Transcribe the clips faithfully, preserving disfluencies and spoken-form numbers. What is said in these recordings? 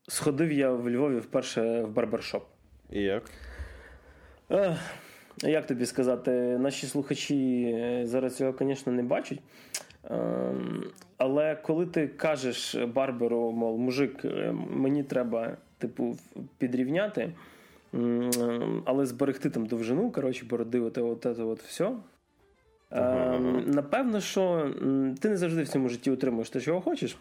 сходив я в Львові вперше в барбершоп. І як? Е, як тобі сказати, наші слухачі зараз цього, звісно, не бачать. Е, але коли ти кажеш барберу, мов, мужик, мені треба, типу, підрівняти, але зберегти там довжину, коротше, бороди, от, от, от, от все. Ага. Е, напевно, що ти не завжди в цьому житті отримуєш те, чого хочеш.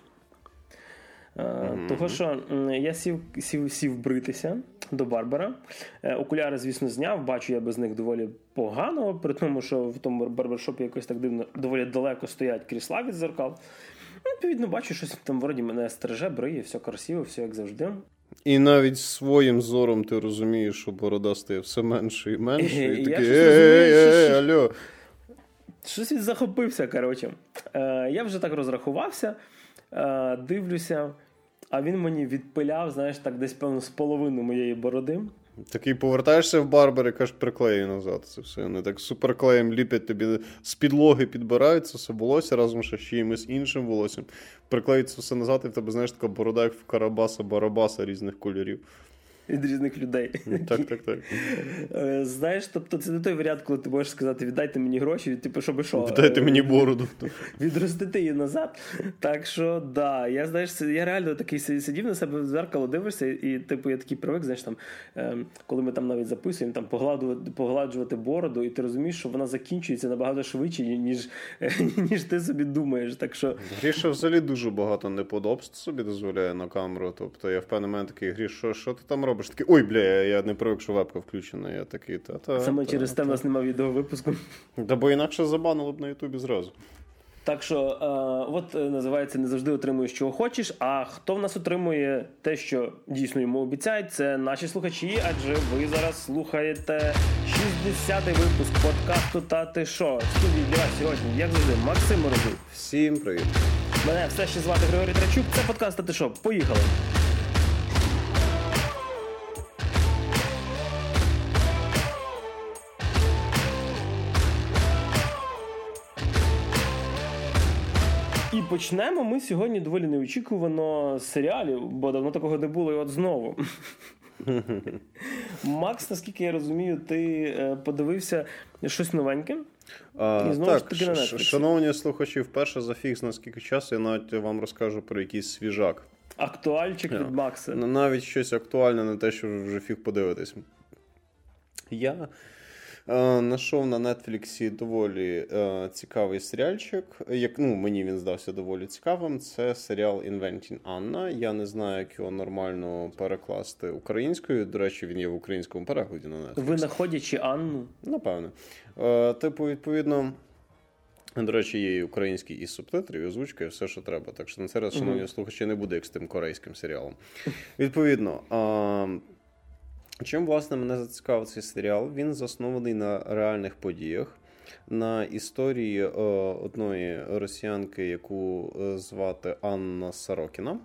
Mm-hmm. Того, що я сів, сів, сів бритися до барбера. Окуляри, звісно, зняв. Бачу я без них доволі погано, при тому, що в тому барбершопі якось так дивно, доволі далеко стоять крісла від зеркал. Відповідно, бачу, щось там вроді мене стриже, бриє, все красиво, все як завжди. І навіть своїм зором ти розумієш, що борода стає все менше і менше. І, і такий, ей, ей, алло. Щось він захопився, коротше. Я вже так розрахувався. Uh, дивлюся, а він мені відпиляв, знаєш, так десь, певно, з половину моєї бороди. Такий повертаєшся в барбер і кажеш, приклею назад це все. Вони так суперклеєм ліпять тобі, з підлоги підбираються все волосся разом ще з чимось іншим волоссям. Приклеються все назад, і в тебе, знаєш, така борода, як в Карабаса-Барабаса різних кольорів. Від різних людей. Так, так, так. Знаєш, тобто це не той варіант, коли ти можеш сказати, віддайте мені гроші, типу, щоб що? Віддайте мені бороду. Відростити її назад. Так що, да, я, знаєш, я реально такий сидів на себе в зеркало, дивишся, і, типу, я такий привик, знаєш, там, коли ми там навіть записуємо, там, погладжувати, погладжувати бороду, і ти розумієш, що вона закінчується набагато швидше, ніж, ніж ти собі думаєш. Так що... Гріша взагалі дуже багато неподобств собі дозволяє на камеру. Тобто я в певний момент такий, Гріш, що, що ти там робиш? Такий, ой, бля, я не привик, що вебка включена. Я такий, та-та. Саме та, через те в нас немає відеовипуску. Да, бо інакше забанили б на Ютубі зразу. Так що, е, от називається «Не завжди отримуєш, чого хочеш», а хто в нас отримує те, що дійсно йому обіцяють, це наші слухачі, адже ви зараз слухаєте шістдесятий випуск подкасту «Та ти шо?». В студії для вас сьогодні, як завжди, Максим Морозюк. Всім привіт. Мене все ще звати Григорій Трачук, це подкаст «Та ти шо?». Поїхали. І почнемо ми сьогодні доволі неочікувано з серіалів, бо давно такого не було, і от знову. Макс, наскільки я розумію, ти подивився щось новеньке? А, і знову так, ж таки на Netflix. Шановні слухачі, вперше за фікс, наскільки часу, я навіть вам розкажу про якийсь свіжак. Актуальчик від Макса. Навіть щось актуальне, не те, що вже фіг подивитись. Я... Нашов на Нетфліксі доволі е, цікавий серіальчик. Як, ну, мені він здався доволі цікавим. Це серіал «Inventing Anna». Я не знаю, як його нормально перекласти українською. До речі, він є в українському перекладі на Нетфліксі. Винаходячи Анну? Напевне. Е, типу, відповідно, до речі, є і український, і субтитри, і озвучка, і все, що треба. Так що на цей раз, шановні uh-huh. слухачі, не буде як з тим корейським серіалом. Відповідно, е, чим, власне, мене зацікавив цей серіал? Він заснований на реальних подіях, на історії е, одної росіянки, яку звати Анна Сорокіна,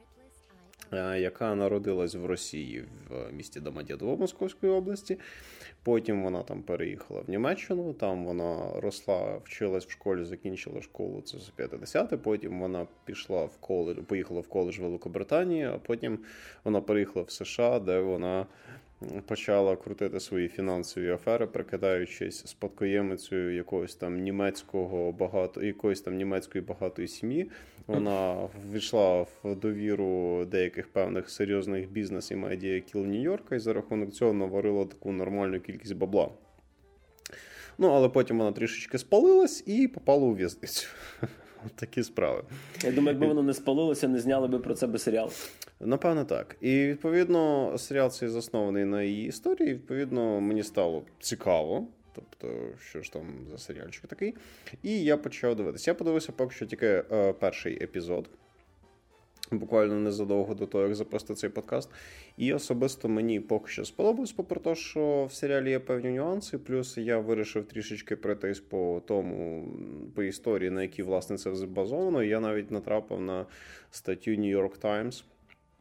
е, яка народилась в Росії, в місті Домодєдово Московської області. Потім вона там переїхала в Німеччину, там вона росла, вчилась в школі, закінчила школу, це за п'ятдесяте, потім вона пішла в коледж, поїхала в коледж в Великобританії, а потім вона переїхала в США, де вона почала крутити свої фінансові афери, прикидаючись спадкоємицею якогось там німецького багато, якоїсь там німецької багатої сім'ї. Вона ввійшла в довіру деяких певних серйозних бізнес і медіа кіл Нью-Йорка, і за рахунок цього наварила таку нормальну кількість бабла. Ну, але потім вона трішечки спалилась і попала у в'язницю. Такі справи. Я думаю, якби воно не спалилося, не зняли би про це би серіал. Напевно, так. І, відповідно, серіал цей заснований на її історії. Відповідно, мені стало цікаво. Тобто, що ж там за серіальчик такий. І я почав дивитися. Я подивився поки що тільки е, перший епізод. Буквально незадовго до того, як запустити цей подкаст. І особисто мені поки що сподобалось, попри те, що в серіалі є певні нюанси. Плюс я вирішив трішечки пройтись по тому, по історії, на якій, власне, це базовано. Я навіть натрапив на статтю New York Times,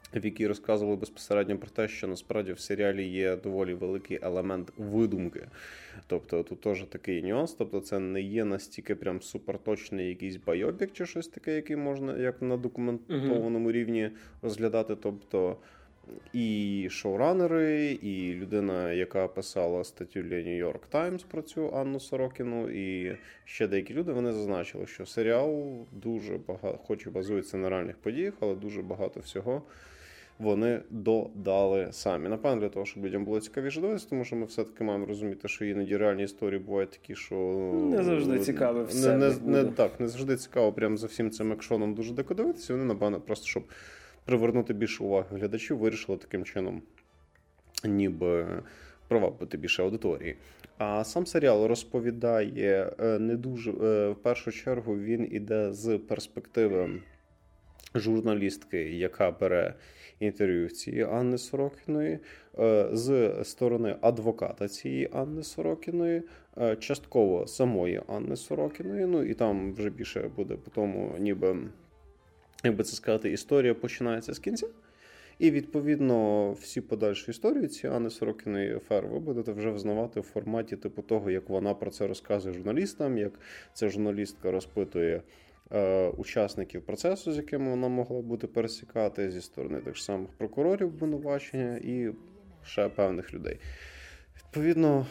в якій розказували безпосередньо про те, що насправді в серіалі є доволі великий елемент видумки. Тобто тут теж такий нюанс, тобто це не є настільки прям суперточний якийсь байопік чи щось таке, який можна як на документованому uh-huh. рівні розглядати. Тобто і шоуранери, і людина, яка писала статтю для New York Times про цю Анну Сорокіну, і ще деякі люди, вони зазначили, що серіал дуже багато, хоч і базується на реальних подіях, але дуже багато всього вони додали самі. Напевно, для того, щоб людям було цікавіше дивитися, тому що ми все-таки маємо розуміти, що іноді реальні історії бувають такі, що... Не завжди цікаве все. Не, не, не, так, не завжди цікаво прямо за всім цим екшоном дуже дико дивитися. Вони, напевно, просто, щоб привернути більше уваги глядачів, вирішили таким чином ніби привабити більше аудиторії. А сам серіал розповідає не дуже... В першу чергу він іде з перспективи журналістки, яка бере інтерв'ю в цієї Анни Сорокіної, з сторони адвоката цієї Анни Сорокіної, частково самої Анни Сорокіної, ну і там вже більше буде по тому, ніби, як би це сказати, історія починається з кінця. І, відповідно, всі подальші історії цієї Анни Сорокіної афери ви будете вже взнавати в форматі типу того, як вона про це розказує журналістам, як ця журналістка розпитує учасників процесу, з якими вона могла бути пересікати, зі сторони тих самих прокурорів обвинувачення і ще певних людей. Відповідно,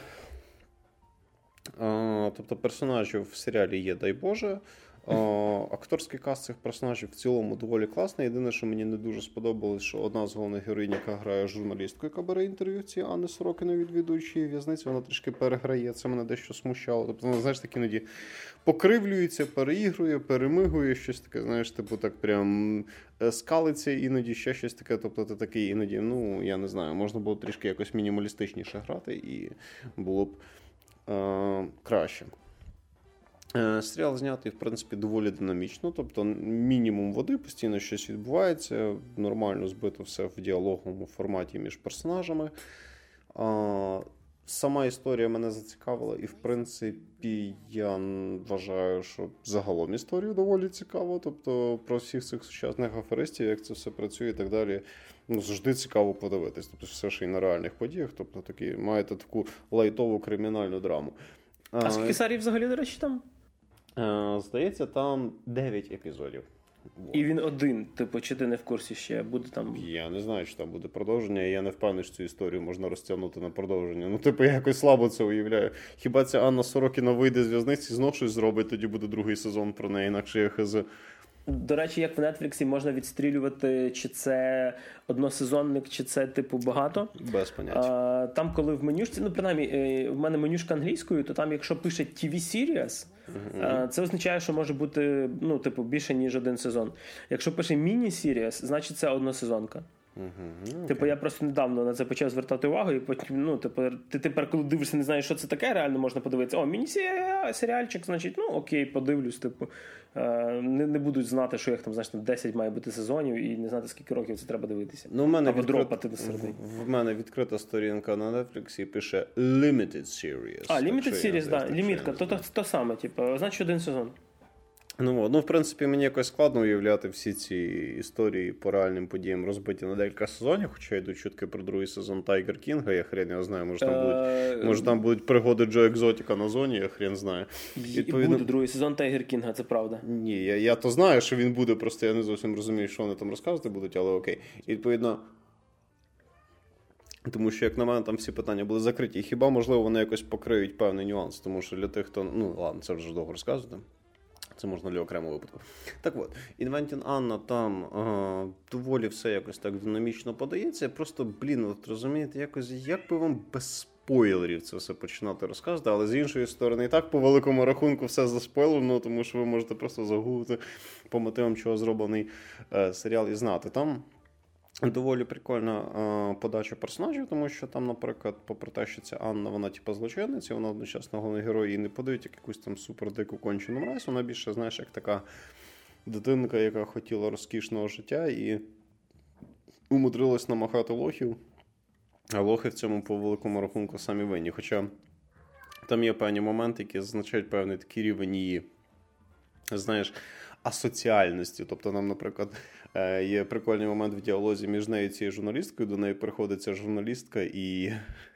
тобто персонажів в серіалі є, дай Боже. Акторський каст цих персонажів в цілому доволі класний. Єдине, що мені не дуже сподобалось, що одна з головних героїнь, яка грає журналістку, яка бере інтерв'ю ці Анни Сорокіної, відвідуючи в'язниці, вона трішки переграє. Це мене дещо смущало. Тобто вона, знаєш, так іноді покривлюється, переігрує, перемигує, щось таке, знаєш, типу так прям скалиться іноді, ще щось таке. Тобто ти такий іноді, ну, я не знаю, можна було трішки якось мінімалістичніше грати і було б е- краще. Серіал знятий, в принципі, доволі динамічно, тобто мінімум води, постійно щось відбувається, нормально збито все в діалоговому форматі між персонажами. Сама історія мене зацікавила і, в принципі, я вважаю, що загалом історію доволі цікаво, тобто про всіх цих сучасних аферистів, як це все працює і так далі, ну, завжди цікаво подивитись, тобто все ще й на реальних подіях, тобто такі, маєте таку лайтову кримінальну драму. А скільки серій взагалі, до речі, там? Здається, там дев'ять епізодів. І він один, типу, чи ти не в курсі ще буде там? Я не знаю, чи там буде продовження, і я не впевнений, що цю історію можна розтягнути на продовження. Ну, типу, я якось слабо це уявляю. Хіба ця Анна Сорокіна вийде з в'язниці, знов щось зробить, тоді буде другий сезон про неї, інакше я хз. До речі, як в Нетфліксі можна відстрілювати, чи це односезонник, чи це, типу, багато. Без поняття. А, там, коли в менюшці, ну, принаймні, в мене менюшка англійською, то там, якщо пише ті ві Series, uh-huh. це означає, що може бути, ну, типу, більше, ніж один сезон. Якщо пише міні-Series, значить це односезонка. Uh-huh. Okay. Типу, я просто недавно на це почав звертати увагу, і потім, ну, типу, ти тепер, коли дивишся, не знаєш, що це таке, реально можна подивитися. О, міні-серіальчик, значить, ну, окей, подивлюсь, типу. Не, не будуть знати, що їх там, значить, там десять має бути сезонів, і не знати, скільки років це треба дивитися. Ну, в мене або відкрит... дропати до середини. В, в мене відкрита сторінка на Netflix і пише Limited Series. А, Limited Series, так, да, лімітка, то, то, то саме, типу, значить, один сезон. Ну, ну, в принципі, мені якось складно уявляти всі ці історії по реальним подіям розбиті на декілька сезонів, хоча йдуть чутки про другий сезон Тайгер Кінга, я хрен його знаю, може там будуть, може там будуть пригоди Джо Екзотіка на зоні, я хрен знаю. Відповідно... Буде другий сезон Тайгер Кінга, це правда. Ні, я, я то знаю, що він буде, просто я не зовсім розумію, що вони там розказувати будуть, але окей. І, відповідно, тому що, як на мене, там всі питання були закриті. І хіба, можливо, вони якось покриють певний нюанс, тому що для тих, хто, ну, ладно, це вже довго розказувати. Це можна для окремого випадку. Так от, Inventing Anna там а, доволі все якось так динамічно подається. Просто, блін, от розумієте, якось, як би вам без спойлерів це все починати розказувати, але з іншої сторони, і так по великому рахунку все заспойлено, тому що ви можете просто загуглити по мотивам, чого зроблений е, серіал і знати. Там доволі прикольна е, подача персонажів, тому що там, наприклад, попри те, що ця Анна, вона типу злочинниця, вона одночасно головний герой, її не подають як якусь там супердику кончену мразь, вона більше, знаєш, як така дитинка, яка хотіла розкішного життя і умудрилась намахати лохів, а лохи в цьому по великому рахунку самі винні. Хоча там є певні моменти, які зазначають певний такий рівень її, знаєш, асоціальності. Тобто нам, наприклад, є прикольний момент в діалозі між нею і цією журналісткою, до неї приходить ця журналістка і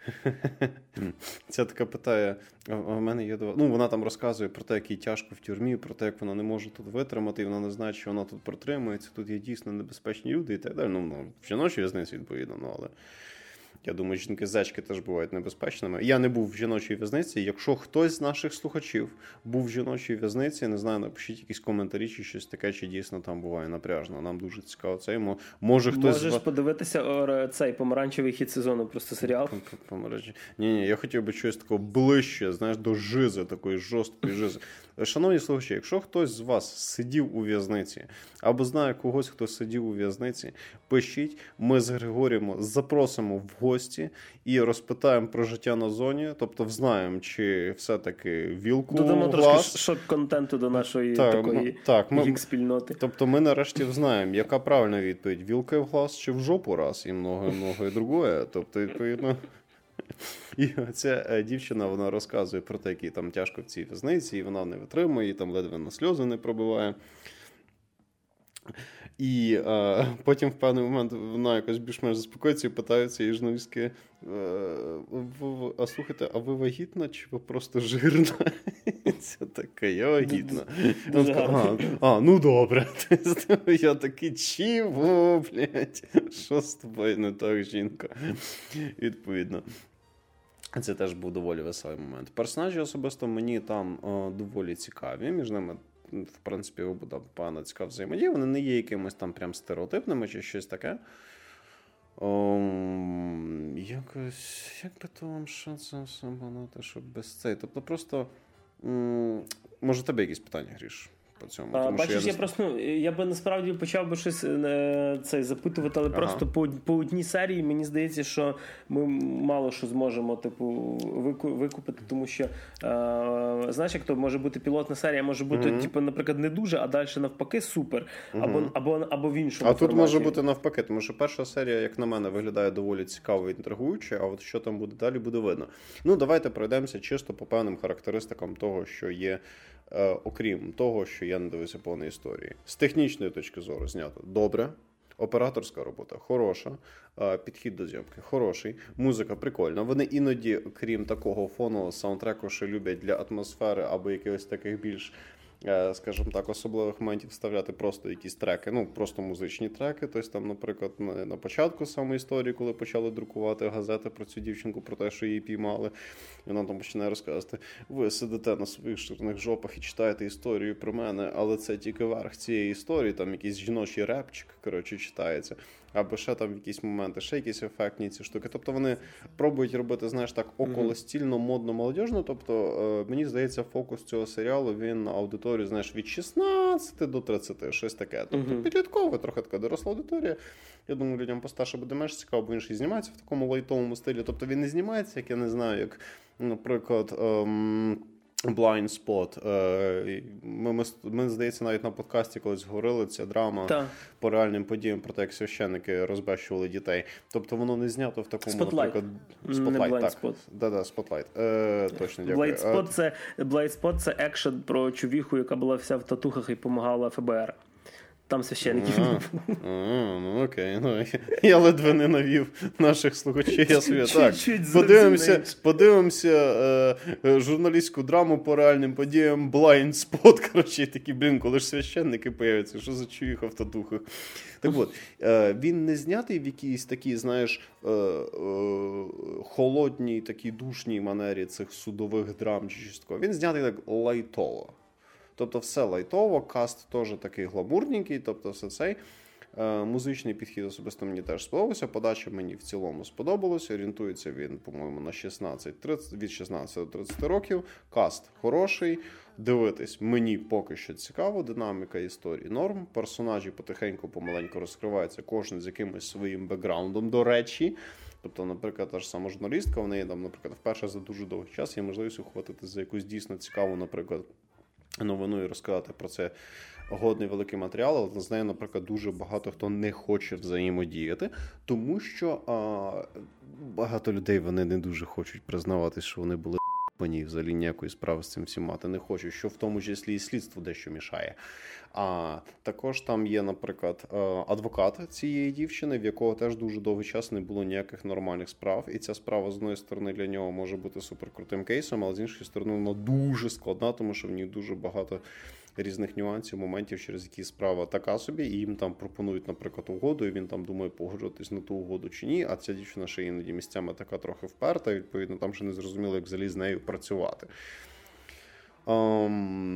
ця така питає, а в мене є два... Ну, вона там розказує про те, як їй тяжко в тюрмі, про те, як вона не може тут витримати, і вона не знає, що вона тут протримується, тут є дійсно небезпечні люди і так далі. Ну, ну в жіночій в'язниці, відповідно, ну, але я думаю, жінки-зечки теж бувають небезпечними. Я не був в жіночій в'язниці. Якщо хтось з наших слухачів був в жіночій в'язниці, не знаю, напишіть якісь коментарі чи щось таке, чи дійсно там буває напряжно. Нам дуже цікаво це. Може хтось... Можеш подивитися цей помаранчевий хід сезону, просто серіал. Помаранчевий. Ні-ні, я хотів би щось такого ближче, знаєш, до жизи, такої жорсткої жизи. Шановні слухачі, якщо хтось з вас сидів у в'язниці, або знає когось, хто сидів у в'язниці, пишіть, ми з Григорієм запросимо в гості і розпитаємо про життя на зоні, тобто взнаємо, чи все-таки вілку додамо глаз. Трошки шок-контенту до нашої так, такої так, гік-спільноти. Тобто ми нарешті взнаємо, яка правильна відповідь, вілка в глаз чи в жопу раз, і многое-многое другое. Тобто, відповідно... І ця дівчина, вона розказує про те, як їй там тяжко в цій в'язниці, і вона не витримує, і там ледве на сльози не пробиває. І а, потім в певний момент вона якось більш-менш заспокоїться і питається її журналістки, а слухайте, а ви вагітна чи ви просто жирна? Це таке, я вагітна. А, а, ну добре. Я такий, чого, блядь? Що з тобою не так, жінка? Відповідно. Це теж був доволі веселий момент. Персонажі особисто мені там о, доволі цікаві. Між ними, в принципі, буде певна цікава взаємодія. Вони не є якимось там прям стереотипними чи щось таке. О, якось, як би то вам що це все банати, щоб без цей. Тобто просто, м- може тебе якісь питання, Гріш? Цьому, а, тому, бачиш, я, я просто, ну, я би насправді почав би щось е, цей запитувати, але ага. просто по, по одній серії мені здається, що ми мало що зможемо типу вику, викупити, тому що е, знаєш, як то може бути пілотна серія, може бути, mm-hmm. типу, наприклад, не дуже, а далі навпаки супер, mm-hmm. або, або, або в іншому А форматі. тут може бути навпаки, тому що перша серія, як на мене, виглядає доволі цікаво і інтригуюче, а от що там буде далі, буде видно. Ну, давайте пройдемося чисто по певним характеристикам того, що є, е, окрім того, що я не дивився повної історії. З технічної точки зору знято добре, операторська робота хороша, підхід до зйомки хороший, музика прикольна. Вони іноді, крім такого фонового саундтреку, що люблять для атмосфери або якихось таких більш, скажімо так, особливих моментів вставляти просто якісь треки, ну, просто музичні треки. Тобто там, наприклад, на початку самої історії, коли почали друкувати газети про цю дівчинку, про те, що її піймали, і вона там починає розказувати: ви сидите на своїх ширних жопах і читаєте історію про мене, але це тільки верх цієї історії, там якийсь жіночий репчик, коротше, читається. Або ще там якісь моменти, ще якісь ефектні ці штуки. Тобто вони пробують робити, знаєш, так околостільно, модно, молодіжно. Тобто, е, мені здається, фокус цього серіалу, він на аудиторію, знаєш, від шістнадцяти до тридцяти, щось таке. Тобто uh-huh. підліткова, трохи така доросла аудиторія. Я думаю, людям постарше буде менш цікаво, бо він ще й знімається в такому лайтовому стилі. Тобто він не знімається, як я не знаю, як, наприклад, ем... Blind Spot. Ми, ми, ми, здається, навіть на подкасті колись говорили, ця драма Та. по реальним подіям про те, як священники розбещували дітей. Тобто воно не знято в такому, Spotlight. наприклад... Spotlight, не Blind так. Spot. Да-да, Spotlight. Е, точно, дякую. Blind Spot це, Blind Spot це екшен про чувіху, яка була вся в татухах і допомагала еф бе ер. Там священників. А, а, ну окей. Ну, я ледве не навів наших слухачів. Я собі, так, подивимося, подивимося е, журналістську драму по реальним подіям Blind Spot. Коротше, такі, блін, коли ж священники появляться, що за чуїха в татухах. Так от, е, він не знятий в якійсь такій, знаєш, е, е, холодній, такій душній манері цих судових драм чи щось такого. Він знятий так лайтово. Тобто все лайтово, каст теж такий гламурненький, тобто все цей. Е, музичний підхід особисто мені теж сподобався, подача мені в цілому сподобалася, орієнтується він, по-моєму, на шістнадцять тридцять, від шістнадцяти до тридцяти років, каст хороший, дивитись мені поки що цікаво, динаміка історії норм, персонажі потихеньку, помаленьку розкриваються, кожен з якимось своїм бекграундом, до речі. Тобто, наприклад, та ж сама журналістка, в неї там, наприклад, вперше за дуже довгий час є можливість ухватити за якусь дійсно цікаву, наприклад, новину і розказати про це годний великий матеріал, але з нею, наприклад, дуже багато хто не хоче взаємодіяти, тому що а, багато людей, вони не дуже хочуть признавати, що вони були Вони взагалі ніякої справи з цим всім мати не хочуть, що в тому числі і слідство дещо мішає. А також там є, наприклад, адвокат цієї дівчини, в якого теж дуже довгий час не було ніяких нормальних справ. І ця справа, з однієї сторони, для нього може бути суперкрутим кейсом, але з іншої сторони, вона дуже складна, тому що в ній дуже багато різних нюансів, моментів, через які справа така собі, і їм там пропонують, наприклад, угоду, і він там думає, погоджуватись на ту угоду чи ні, а ця дівчина ще іноді місцями така трохи вперта, і, відповідно, там ще не зрозуміло, як взагалі з нею працювати. Um,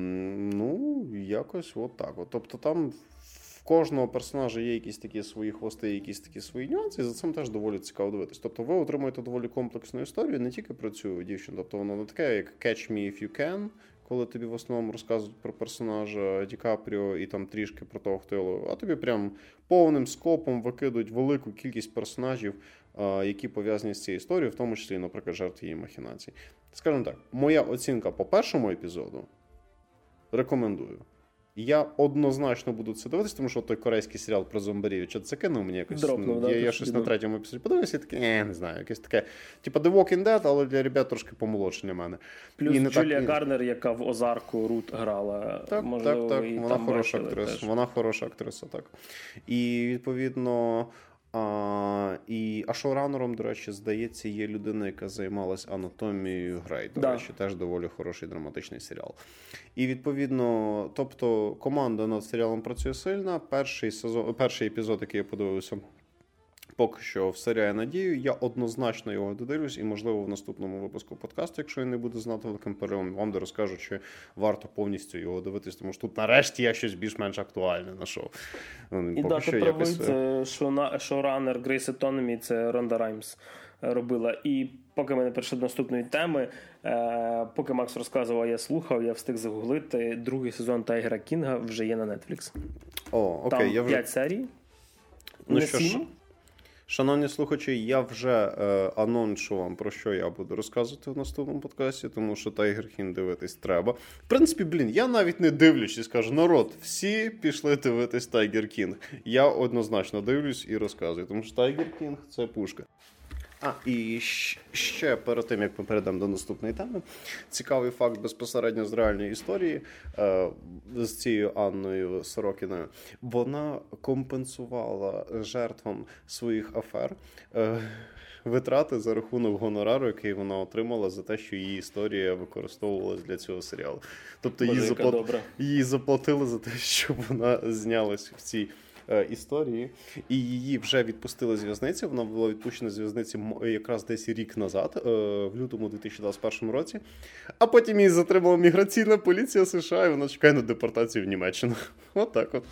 ну, якось от так. От. Тобто там в кожного персонажа є якісь такі свої хвости, якісь такі свої нюанси, і за цим теж доволі цікаво дивитись. Тобто ви отримуєте доволі комплексну історію, не тільки про цю дівчину, тобто воно не таке, як Catch Me If You Can, коли тобі в основному розказують про персонажа Ді Капріо і там трішки про того, хто його, а тобі прям повним скопом викидують велику кількість персонажів, які пов'язані з цією історією, в тому числі, наприклад, жертв її махінацій. Скажімо так, моя оцінка по першому епізоду рекомендую. Я однозначно буду це дивитися, тому що той корейський серіал про зомбарів, що це кинув мені якось. Дропнув, я да, я щось на третьому епізоді подивився і таке, не, не знаю, якесь таке, типа The Walking Dead, але для ребят трошки помолодше для мене. Плюс і Джулія так... Гарнер, яка в Озарку Рут грала. Так, можливо, так, так, вона хороша актриса. Теж. Вона хороша актриса, так. І, відповідно, А, і, а шоуранером, до речі, здається, є людина, яка займалась анатомією Грей. До да. речі, теж доволі хороший драматичний серіал. І, відповідно, тобто, команда над серіалом працює сильно. Перший сезон, перший епізод, який я подивився, поки що всеряє надію. Я однозначно його додивлюсь і, можливо, в наступному випуску подкасту, якщо він не буде знати великим переривом, вам де розкажу, чи варто повністю його дивитись, тому що тут нарешті я щось більш-менш актуальне знайшов. І да, ти правий, це шоуранер Grey's Anatomy, це Ронда Раймс робила. І поки ми не перейшли до наступної теми, поки Макс розказував, я слухав, я встиг загуглити, другий сезон Тайгера Кінга вже є на Netflix. О, окей. Там я вже... п'ять серій. Ну що ж, шановні слухачі, я вже е, аноншу вам, про що я буду розказувати в наступному подкасті, тому що Тайгер Кінг дивитись треба. В принципі, блін, я навіть не дивлюсь і скажу, народ, всі пішли дивитись Тайгер Кінг. Я однозначно дивлюсь і розказую, тому що Тайгер Кінг – це пушка. А, і ще перед тим, як ми перейдемо до наступної теми, цікавий факт безпосередньо з реальної історії е, з цією Анною Сорокіною. Вона компенсувала жертвам своїх афер е, витрати за рахунок гонорару, який вона отримала за те, що її історія використовувалась для цього серіалу. Тобто її, заплат... її заплатили за те, щоб вона знялась в цій історії, і її вже відпустили з в'язниці. Вона була відпущена з в'язниці якраз десь рік назад, в лютому дві тисячі двадцять першому році, а потім її затримала міграційна поліція США, і вона чекає на депортацію в Німеччину. От так от.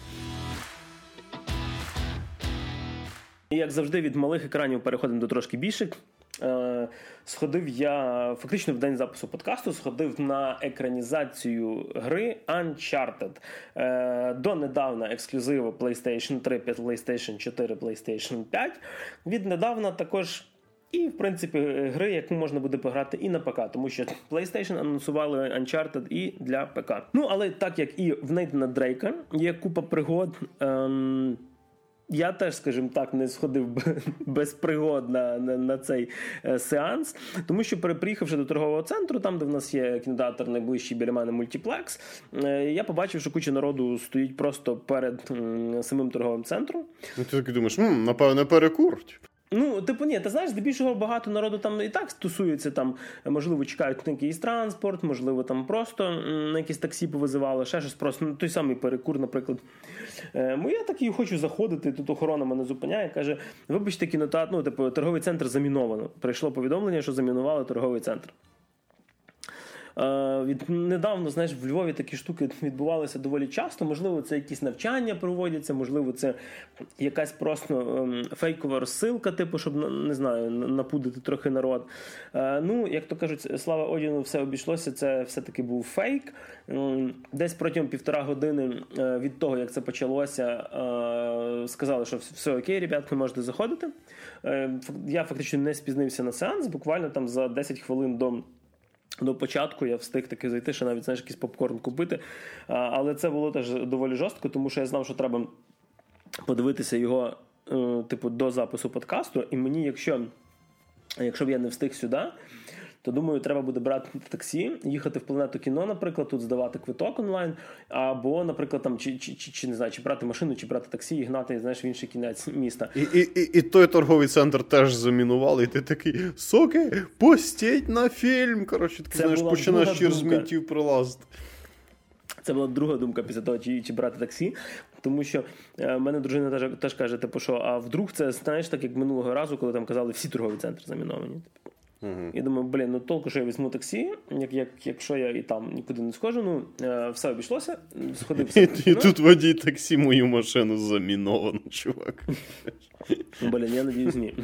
І, як завжди, від малих екранів переходимо до трошки більших. Е, сходив я, фактично в день запису подкасту, сходив на екранізацію гри Uncharted. Е, донедавна ексклюзиво PlayStation три, PlayStation чотири, PlayStation п'ять. Віднедавна також і, в принципі, гри, яку можна буде пограти і на ПК, тому що PlayStation анонсували Uncharted і для ПК. Ну, але так як і в Нейтана Дрейка є купа пригод, ем, я теж, скажімо так, не сходив без пригод на, на, на цей е, сеанс, тому що, приїхавши до торгового центру, там, де в нас є кінотеатр найближчий біля мене мультиплекс, е, я побачив, що куча народу стоїть просто перед м, самим торговим центром. Ну, ти таки думаєш, м, напевне, перекур. Ну, типу, ні, ти знаєш, здебільшого багато народу там і так стосується, там, можливо, чекають на якийсь транспорт, можливо, там просто на якісь таксі повизивали, ще щось просто, ну, той самий перекур, наприклад. Е, я такий хочу заходити, тут охорона мене зупиняє, каже, вибачте, кінотеатр, ну, типу, торговий центр заміновано. Прийшло повідомлення, що замінували торговий центр. Uh, від, недавно, знаєш, в Львові такі штуки відбувалися доволі часто. Можливо, це якісь навчання проводяться, можливо, це якась просто um, фейкова розсилка, типу, щоб, не знаю, напудити трохи народ. Uh, ну, як то кажуть, слава Одіну, все обійшлося, це все-таки був фейк. Um, десь протягом півтора години uh, від того, як це почалося, uh, сказали, що все окей, ребятки, можете заходити. Uh, я фактично не спізнився на сеанс, буквально там за десять хвилин до До початку я встиг таки зайти, ще навіть, знаєш, якийсь попкорн купити. А, але це було теж доволі жорстко, тому що я знав, що треба подивитися його, е, типу, до запису подкасту. І мені, якщо, якщо б я не встиг сюди, то, думаю, треба буде брати таксі, їхати в Планету кіно, наприклад, тут здавати квиток онлайн, або, наприклад, там, чи, чи, чи, чи не знаю, чи брати машину, чи брати таксі і гнати, знаєш, в інший кінець міста. І, і, і, і той торговий центр теж замінували, і ти такий, соки, постіть на фільм, коротше, ти знаєш, починаєш через мінтів прилазити. Це була друга думка після того, чи, чи брати таксі. Тому що е, мене дружина теж, теж каже, типу, що, а вдруг це, знаєш, так як минулого разу, коли там казали, всі торгові центри заміновані. Типу. Uh-huh. І думаю, блін, ну толку, що я візьму таксі, як, як, якщо я і там нікуди не схожу, ну, е, все обійшлося, сходив. І, і тут водій таксі мою машину заміновано, чувак. Блін, я надіюсь, ні.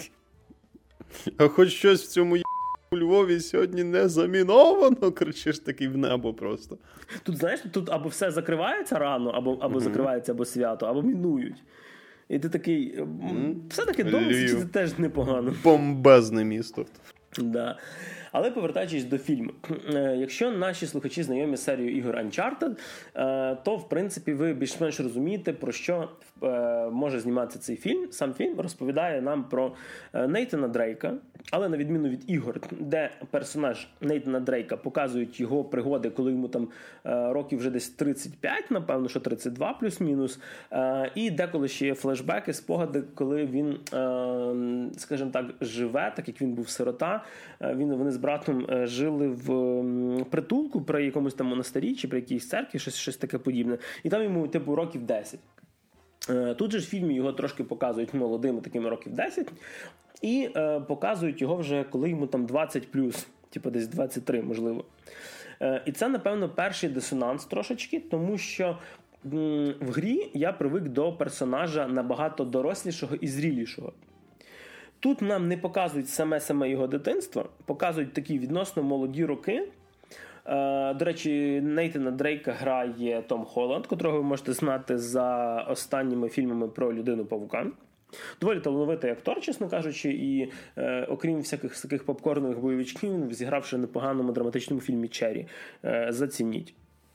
А хоч щось в цьому у Львові сьогодні не заміновано, кричиш такий в небо просто. Тут, знаєш, тут або все закривається рано, або, або mm-hmm. закривається, або свято, або мінують. І ти такий, mm-hmm. все-таки Домиці це теж непогано. Бомбезне місто. Да. Але повертаючись до фільму, якщо наші слухачі знайомі з серією ігор Uncharted, то, в принципі, ви більш-менш розумієте, про що може зніматися цей фільм. Сам фільм розповідає нам про Нейтана Дрейка, але на відміну від ігор, де персонаж Нейтана Дрейка показують його пригоди, коли йому там років вже десь тридцять п'ять, напевно, що тридцять два плюс-мінус, і деколи ще є флешбеки, спогади, коли він, скажімо так, живе, так як він був сирота, він, вони з братом жили в притулку при якомусь там монастирі чи при якійсь церкві, щось, щось таке подібне, і там йому, типу, років десять. Тут же ж в фільмі його трошки показують молодими, такими років десять, і е, показують його вже, коли йому там двадцять плюс, типу десь двадцять три, можливо. Е, і це, напевно, перший дисонанс трошечки, тому що м, в грі я привик до персонажа набагато дорослішого і зрілішого. Тут нам не показують саме-саме його дитинство, показують такі відносно молоді роки. Е, до речі, Нейтана Дрейка грає Том Холланд, котрого ви можете знати за останніми фільмами про Людину-павука. Доволі талановитий актор, чесно кажучи, і е, окрім всяких таких попкорнових бойовичків, він зігравши в непоганому драматичному фільмі «Черрі». Е, зацініть.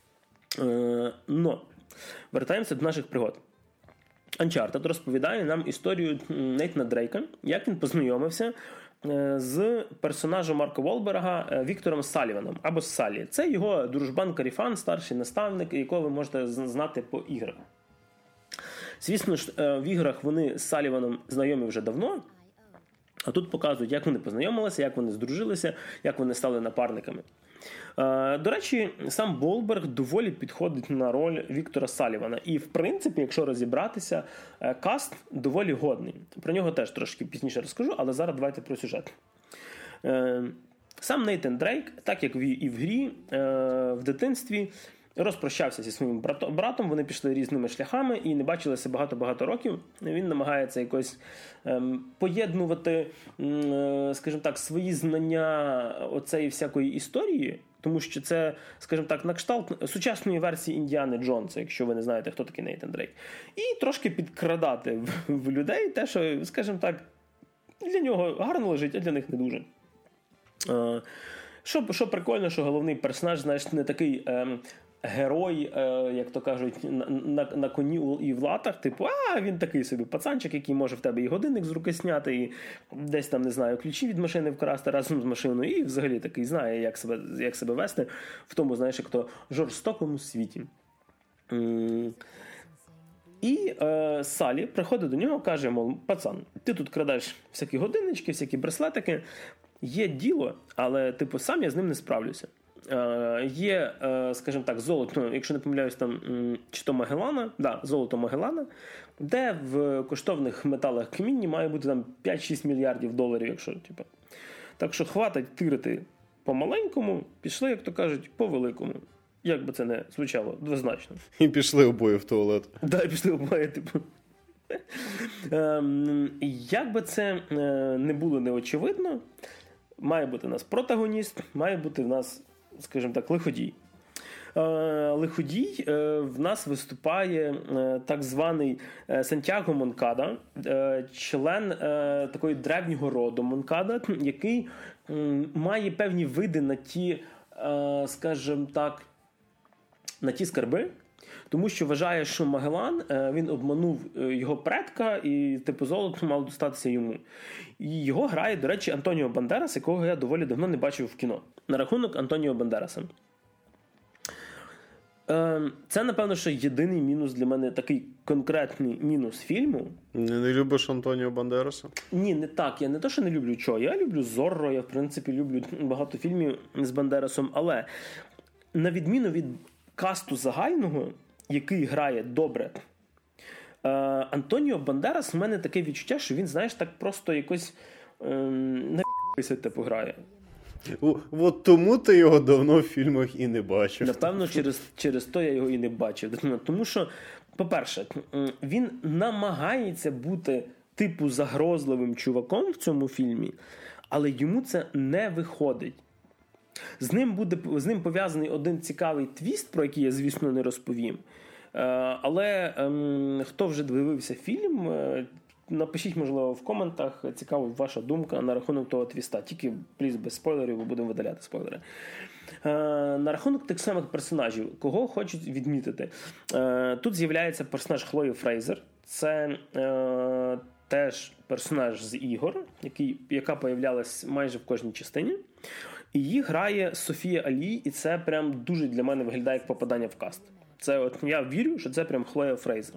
Е, но, вертаємося до наших пригод. Uncharted розповідає нам історію Нейтана Дрейка, як він познайомився з персонажем Марка Волберга Віктором Салліваном, або Саллі. Це його дружбан-каріфан, старший наставник, якого ви можете знати по іграх. Звісно ж, в іграх вони з Салліваном знайомі вже давно, а тут показують, як вони познайомилися, як вони здружилися, як вони стали напарниками. До речі, сам Волберг доволі підходить на роль Віктора Саллівана. І, в принципі, якщо розібратися, каст доволі годний. Про нього теж трошки пізніше розкажу, але зараз давайте про сюжет. Сам Нейтан Дрейк, так як і в грі, в дитинстві розпрощався зі своїм братом, вони пішли різними шляхами і не бачилися багато-багато років. Він намагається якось ем, поєднувати, ем, скажімо так, свої знання оцеї всякої історії, тому що це, скажімо так, на кшталт сучасної версії Індіани Джонса, якщо ви не знаєте, хто такий Нейтан Дрейк. І трошки підкрадати в, в людей те, що, скажімо так, для нього гарно лежить, а для них не дуже. Е, що, що прикольно, що головний персонаж, знаєш, не такий... Ем, герой, як то кажуть, на, на, на коні і в латах, типу, а, він такий собі пацанчик, який може в тебе і годинник з руки зняти, і десь там, не знаю, ключі від машини вкрасти разом з машиною, і взагалі такий знає, як себе, як себе вести в тому, знаєш, як то жорстокому світі. І е, Салі приходить до нього, каже, мов, пацан, ти тут крадеш всякі годиннички, всякі браслетики, є діло, але, типу, сам я з ним не справлюся. Є, скажімо так, золото, якщо не помиляюсь, там, чи то Магеллана, да, золото Магеллана, де в коштовних металах камінні має бути там п'ять-шість мільярдів доларів, якщо, типу. Так що хватить тирити по-маленькому, пішли, як то кажуть, по-великому. Як би це не звучало, двозначно. І пішли обоє в туалет. Так, да, і пішли обоє, типу. Як би це не було неочевидно, має бути в нас протагоніст, має бути в нас, скажімо так, лиходій. Лиходій в нас виступає так званий Сантьяго Монкада, член такої древнього роду Монкада, який має певні види на ті, скажімо так, на ті скарби, Тому що вважає, що Магеллан, він обманув його предка і, типу, золото мало достатися йому. І його грає, до речі, Антоніо Бандерас, якого я доволі давно не бачив в кіно. На рахунок Антоніо Бандераса. Це, напевно, що єдиний мінус для мене, такий конкретний мінус фільму. Не, не любиш Антоніо Бандераса? Ні, не так. Я не то, що не люблю чого. Я люблю Зорро, я, в принципі, люблю багато фільмів з Бандерасом. Але, на відміну від касту загального, який грає добре, Антоніо Бандерас, в мене таке відчуття, що він, знаєш, так просто якось ем, на типу грає. От тому ти його давно в фільмах і не бачив. Напевно, через, через то я його і не бачив. Тому що, по-перше, він намагається бути типу загрозливим чуваком в цьому фільмі, але йому це не виходить. З ним буде, з ним пов'язаний один цікавий твіст, про який я, звісно, не розповім. Але ем, хто вже дивився фільм, напишіть, можливо, в коментах, цікава ваша думка на рахунок того твіста. Тільки, пліз, без спойлерів, бо будемо видаляти спойлери. Е, на рахунок тих самих персонажів, кого хочуть відмітити. Е, тут з'являється персонаж Хлої Фрейзер. Це е, теж персонаж з ігор, який, яка появлялась майже в кожній частині. І її грає Софія Алі, і це прям дуже для мене виглядає як попадання в каст. Це от, я вірю, що це прям Хлоя Фрейзер.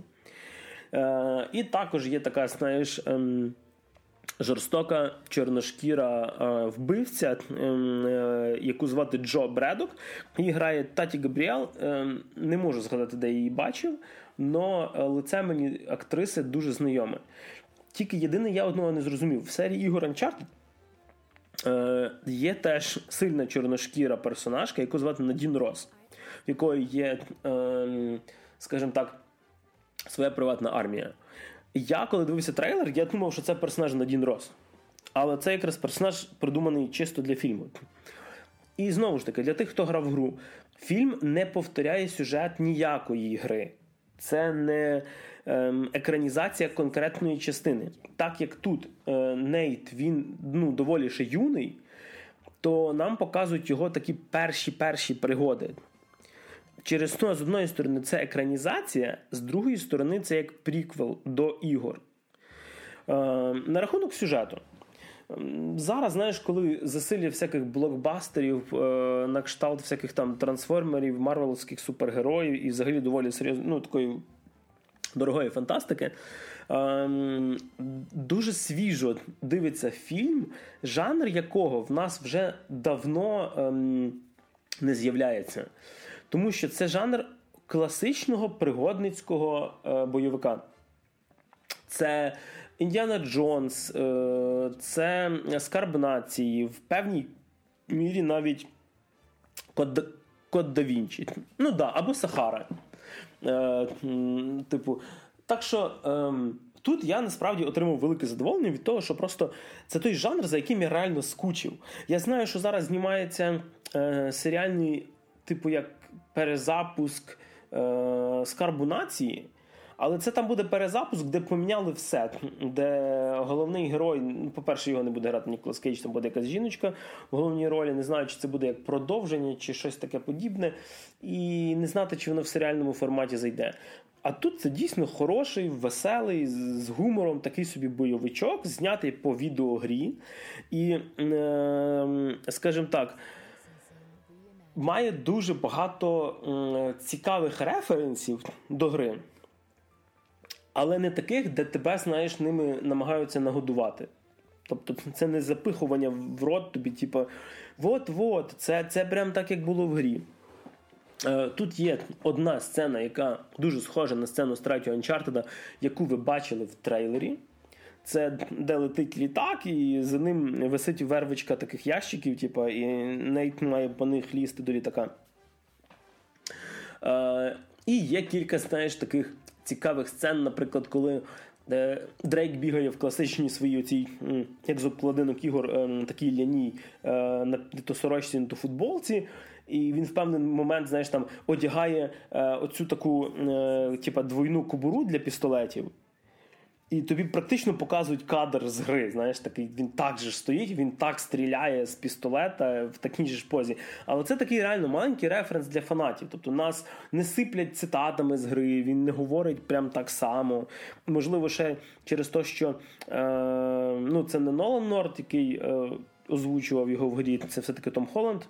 Е, і також є така, знаєш, ем, жорстока чорношкіра е, вбивця, е, яку звати Джо Бредок. Її грає Таті Габріел. Е, не можу згадати, де я її бачив, але лице мені актриси дуже знайоме. Тільки єдине, я одного не зрозумів. В серії ігор Uncharted е, є теж сильна чорношкіра персонажка, яку звати Надін Росс, в якої є, е, скажімо так, своя приватна армія. Я, коли дивився трейлер, я думав, що це персонаж Надін Росс. Але це якраз персонаж придуманий чисто для фільму. І знову ж таки, для тих, хто грав в гру, фільм не повторяє сюжет ніякої гри. Це не ем, екранізація конкретної частини. Так як тут е, Нейт, він ну, доволі ще юний, то нам показують його такі перші-перші пригоди. Через то, з одної сторони, це екранізація, з другої сторони, це як приквел до ігор. Е, на рахунок сюжету. Зараз, знаєш, коли засилля всяких блокбастерів, е, на кшталт всяких там трансформерів, марвеловських супергероїв і взагалі доволі серйозно, ну, такої дорогої фантастики, е, дуже свіжо дивиться фільм, жанр якого в нас вже давно е, не з'являється. Тому що це жанр класичного пригодницького е, бойовика. Це Індіана Джонс, е, це Скарб нації, в певній мірі навіть Код, Код да Вінчі. Ну да, або Сахара. Е, типу, так що е, тут я насправді отримав велике задоволення від того, що просто це той жанр, за яким я реально скучив. Я знаю, що зараз знімається е, серіальний, типу, як перезапуск е, Скарбу нації, але це там буде перезапуск, де поміняли все, де головний герой, ну, по-перше, його не буде грати Ніколас Кейдж, там буде якась жіночка в головній ролі, не знаю, чи це буде як продовження, чи щось таке подібне, і не знати, чи воно в серіальному форматі зайде. А тут це дійсно хороший, веселий, з гумором, такий собі бойовичок, знятий по відеогрі, і, е, скажімо так, має дуже багато м, цікавих референсів до гри, але не таких, де тебе, знаєш, ними намагаються нагодувати. Тобто це не запихування в рот тобі, типу, от-от, це, це прям так, як було в грі. Е, тут є одна сцена, яка дуже схожа на сцену з третього Uncharted, яку ви бачили в трейлері. Це де летить літак, і за ним висить вервичка таких ящиків, типу, і Нейт має по них лізти до літака. Е, і є кілька, знаєш, таких цікавих сцен, наприклад, коли е, Дрейк бігає в класичній своїй оцій, як з обкладинок ігор, е, такій ляній, е, на то сорочці, на то футболці, і він в певний момент, знаєш, там одягає е, оцю таку, е, типу, двойну кобуру для пістолетів. І тобі практично показують кадр з гри, знаєш, такий, він так же стоїть, він так стріляє з пістолета в такій же ж позі. Але це такий реально маленький референс для фанатів. Тобто нас не сиплять цитатами з гри, він не говорить прям так само. Можливо, ще через те, що е, ну, це не Нолан Норт, який е, озвучував його в грі, це все-таки Том Холланд.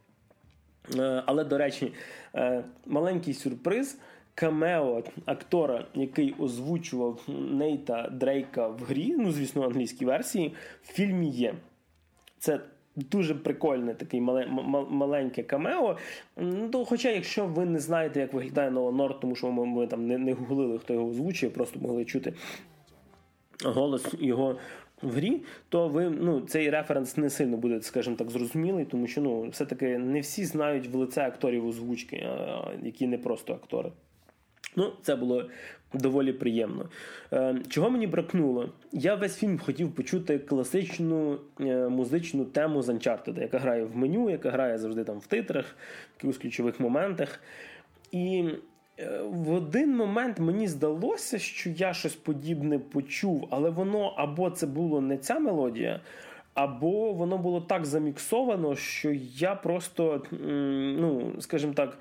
Е, але, до речі, е, маленький сюрприз – камео актора, який озвучував Нейта Дрейка в грі, ну, звісно, в англійській версії, в фільмі є. Це дуже прикольне таке маленьке камео. Ну, хоча, якщо ви не знаєте, як виглядає Нолан Норт, тому що ми, ми там не, не гуглили, хто його озвучує, просто могли чути голос його в грі, то ви, ну, цей референс не сильно буде, скажімо так, зрозумілий, тому що, ну, все-таки не всі знають в лице акторів озвучки, які не просто актори. Ну, це було доволі приємно. Е, чого мені бракнуло? Я весь фільм хотів почути класичну е, музичну тему з Uncharted, яка грає в меню, яка грає завжди там в титрах, в якихось ключових моментах. І е, в один момент мені здалося, що я щось подібне почув, але воно або це було не ця мелодія, або воно було так заміксовано, що я просто, ну, скажімо так,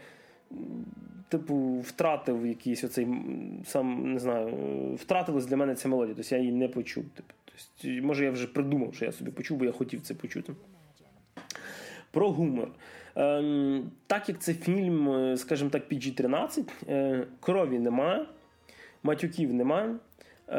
типу, втратив якийсь оцей, сам, не знаю, втратилась для мене ця мелодія, тобто я її не почув. Типу, тобто, може, я вже придумав, що я собі почув, бо я хотів це почути. Про гумор. Е, так як це фільм, скажімо так, пі джі тринадцять, е, крові немає, матюків немає. Е,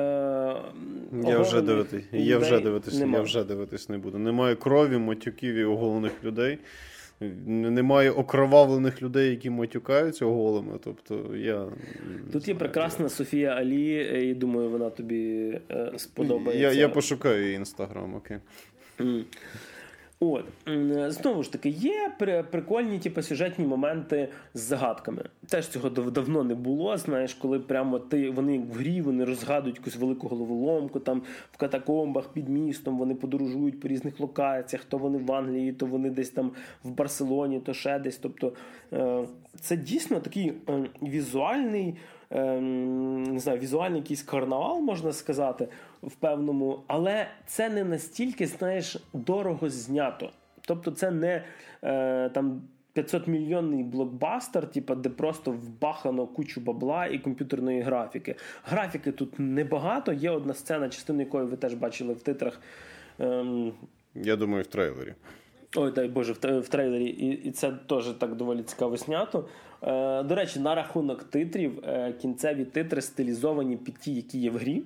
я вже дивитись, я вже дивитись, я вже дивитись не буду. Немає крові, матюків і оголених людей. Немає окровавлених людей, які матюкаються оголими. Тобто я... Тут є прекрасна Софія Алі, і думаю, вона тобі е, сподобається. Я, я пошукаю її інстаграм, окей. Mm. От. Знову ж таки, є прикольні типу, сюжетні моменти з загадками. Теж цього давно не було, знаєш, коли прямо ти, вони в грі, вони розгадують якусь велику головоломку, там в катакомбах під містом, вони подорожують по різних локаціях, то вони в Англії, то вони десь там в Барселоні, то ще десь. Тобто це дійсно такий візуальний, не знаю, візуальний якийсь карнавал, можна сказати, в певному, але це не настільки, знаєш, дорого знято. Тобто це не е, там п'ятсотмільйонний блокбастер, типу, де просто вбахано кучу бабла і комп'ютерної графіки. Графіки тут небагато, є одна сцена, частину якої ви теж бачили в титрах. Ем... Я думаю, в трейлері. Ой, дай Боже, в, в трейлері. І, і це теж так доволі цікаво знято. Е, до речі, на рахунок титрів, е, кінцеві титри стилізовані під ті, які є в грі.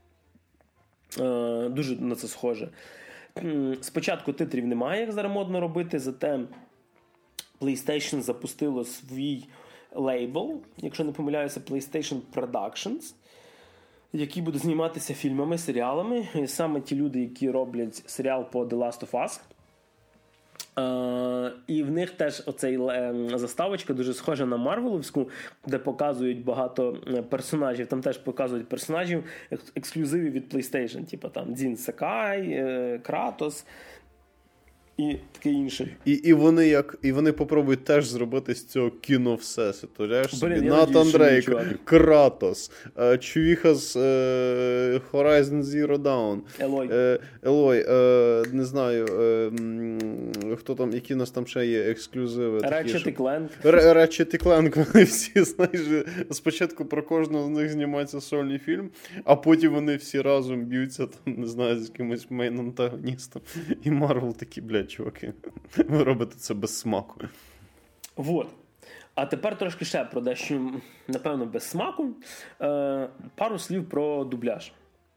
Е, дуже на це схоже. Спочатку титрів немає, як зараз модно робити, зате PlayStation запустило свій лейбл, якщо не помиляюся, PlayStation Productions, який буде зніматися фільмами, серіалами. І саме ті люди, які роблять серіал по The Last of Us. Uh, і в них теж оцей uh, заставочка дуже схожа на Марвеловську, де показують багато персонажів. Там теж показують персонажів ексклюзивів від PlayStation. Типу там Дзін Сакай, uh, Кратос і таке інше. І, і вони як і вони попробують теж зробити з цього кіно всесвіту. Натан Дрейк, Кратос, чувіха з е, Horizon Zero Dawn, Елой, е, Елой е, не знаю, е, хто там, які у нас там ще є ексклюзиви. Ratchet і Clank. Ratchet і Clank, вони всі, знаєш, спочатку про кожного з них знімається сольний фільм, а потім вони всі разом б'ються, там, не знаю, з якимось мейн-антагоністом. І Марвел такі, блядь, чуваки, ви робите це без смаку. Вот. А тепер трошки ще про дещо, напевно, без смаку. Е, пару слів про дубляж.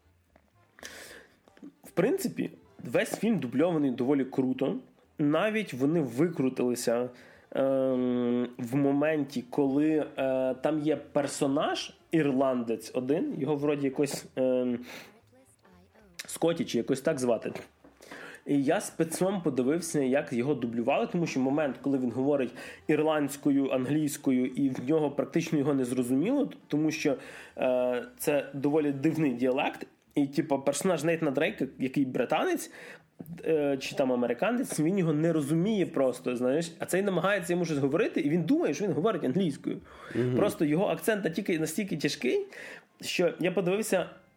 В принципі, весь фільм дубльований доволі круто. Навіть вони викрутилися е, в моменті, коли е, там є персонаж, ірландець один, його вроді якось е, Скотті чи якось так звати. І я спецом подивився, як його дублювали, тому що момент, коли він говорить ірландською, англійською, і в нього практично його не зрозуміло, тому що е, це доволі дивний діалект. І, типу, персонаж Нейтана Дрейка, який британець, е, чи там американець, він його не розуміє просто, знаєш. А цей намагається йому щось говорити, і він думає, що він говорить англійською. Mm-hmm. Просто його акцент настільки, настільки тяжкий, що я подивився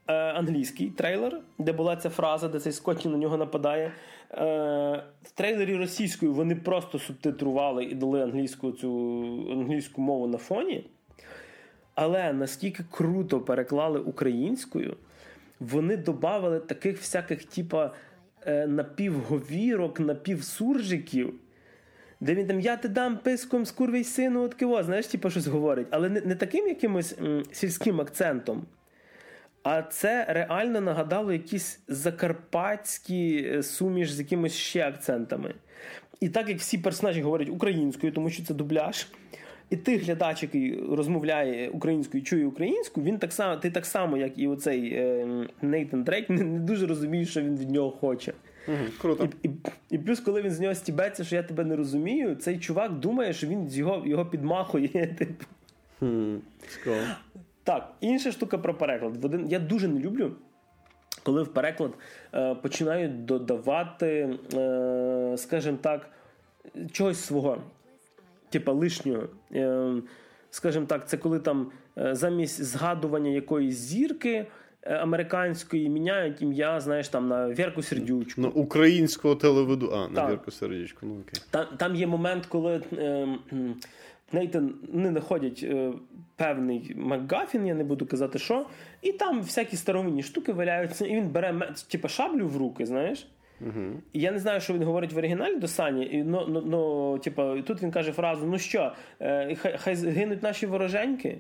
е, англійський трейлер, де була ця фраза, де цей Скотті на нього нападає. Е, в трейлері російською вони просто субтитрували і дали англійську, цю, англійську мову на фоні. Але наскільки круто переклали українською, вони додавали таких всяких типа е, напівговірок, напівсуржиків, де він там, я ти дам писком скурвий сину, от киво, знаєш, типу, щось говорить. Але не, не таким якимось м, сільським акцентом, а це реально нагадало якісь закарпатські суміш з якимось ще акцентами. І так як всі персонажі говорять українською, тому що це дубляж, і ти, глядач, який розмовляє українською, чує українську, він так само, ти так само, як і оцей е, Нейтан Дрейк, не, не дуже розумієш, що він від нього хоче. Угу, круто. І, і, і плюс, коли він з нього стібеться, що я тебе не розумію, цей чувак думає, що він його, його підмахує. Типу. Hmm, так, інша штука про переклад. Один, я дуже не люблю, коли в переклад е, починають додавати, е, скажімо так, чогось свого. Типа лишнього. Е, скажімо так, це коли там е, замість згадування якоїсь зірки американської міняють ім'я, знаєш, там на Вірку Сердючку. На українського телеведу. А, на так. Вірку Сердючку, ну окей. Там, там є момент, коли е, Нейтан не знаходять е, певний МакГафін, я не буду казати що, і там всякі старовинні штуки валяються, і він бере типа шаблю в руки, знаєш. Угу. І я не знаю, що він говорить в оригіналі до Сані, і, но, но, но, типа, тут він каже фразу, ну що, е, хай, хай гинуть наші вороженьки.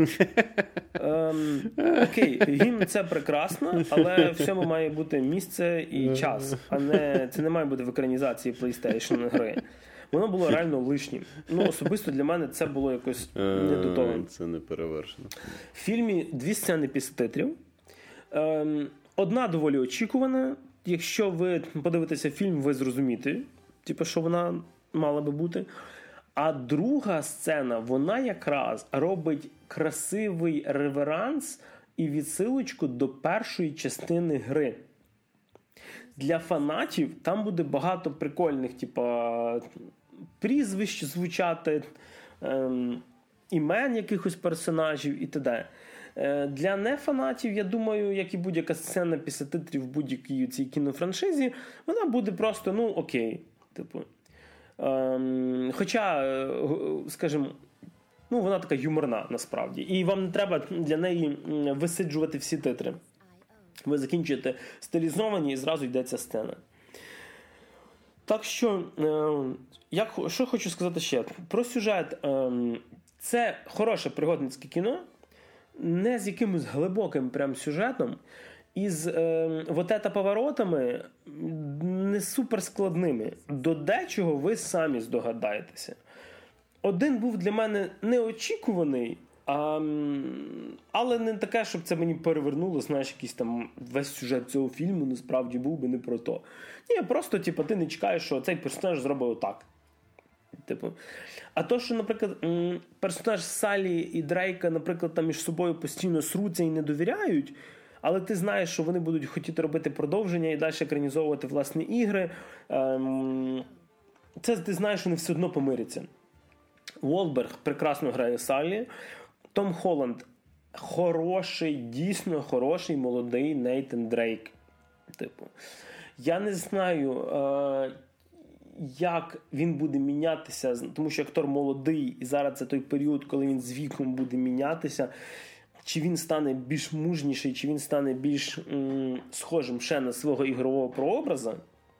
ем, окей, гімн це прекрасно, але всьому має бути місце і час, а не, це не має бути в екранізації PlayStation гри. Воно було реально лишнім. Ну, особисто для мене це було якось не до того. Це не перевершено. В фільмі дві сцени після титрів. Ем, одна доволі очікувана. Якщо ви подивитеся фільм, ви зрозумієте, типу, що вона мала би бути. А друга сцена, вона якраз робить красивий реверанс і відсилочку до першої частини гри. Для фанатів там буде багато прикольних, типа, прізвищ звучати, ем, імен якихось персонажів і т.д. Для нефанатів, я думаю, як і будь-яка сцена після титрів в будь-якій цій кінофраншизі, вона буде просто, ну, окей. Типу. Ем, хоча, скажімо, ну, вона така юморна, насправді. І вам не треба для неї висиджувати всі титри. Ви закінчуєте стилізовані і зразу йде ця сцена. Так що, е, як, що хочу сказати ще? Про сюжет. Е, це хороше пригодницьке кіно, не з якимось глибоким прям сюжетом, і з е, вот ета поворотами не суперскладними. До дечого ви самі здогадаєтеся. Один був для мене неочікуваний, а, але не таке, щоб це мені перевернуло, знаєш, якийсь там весь сюжет цього фільму насправді був би не про то. Ні, просто, типу, ти не чекаєш, що цей персонаж зробив отак. Типу. А то, що, наприклад, персонаж Салі і Дрейка, наприклад, там між собою постійно сруться і не довіряють, але ти знаєш, що вони будуть хотіти робити продовження і далі екранізовувати власні ігри. Це ти знаєш, що вони все одно помиряться. Уолберг прекрасно грає Салі. Том Холланд хороший, дійсно хороший молодий Нейтан Дрейк. Типу. Я не знаю, як він буде мінятися, тому що актор молодий, і зараз це той період, коли він з віком буде мінятися. Чи він стане більш мужніший, чи він стане більш м, схожим ще на свого ігрового прообраза,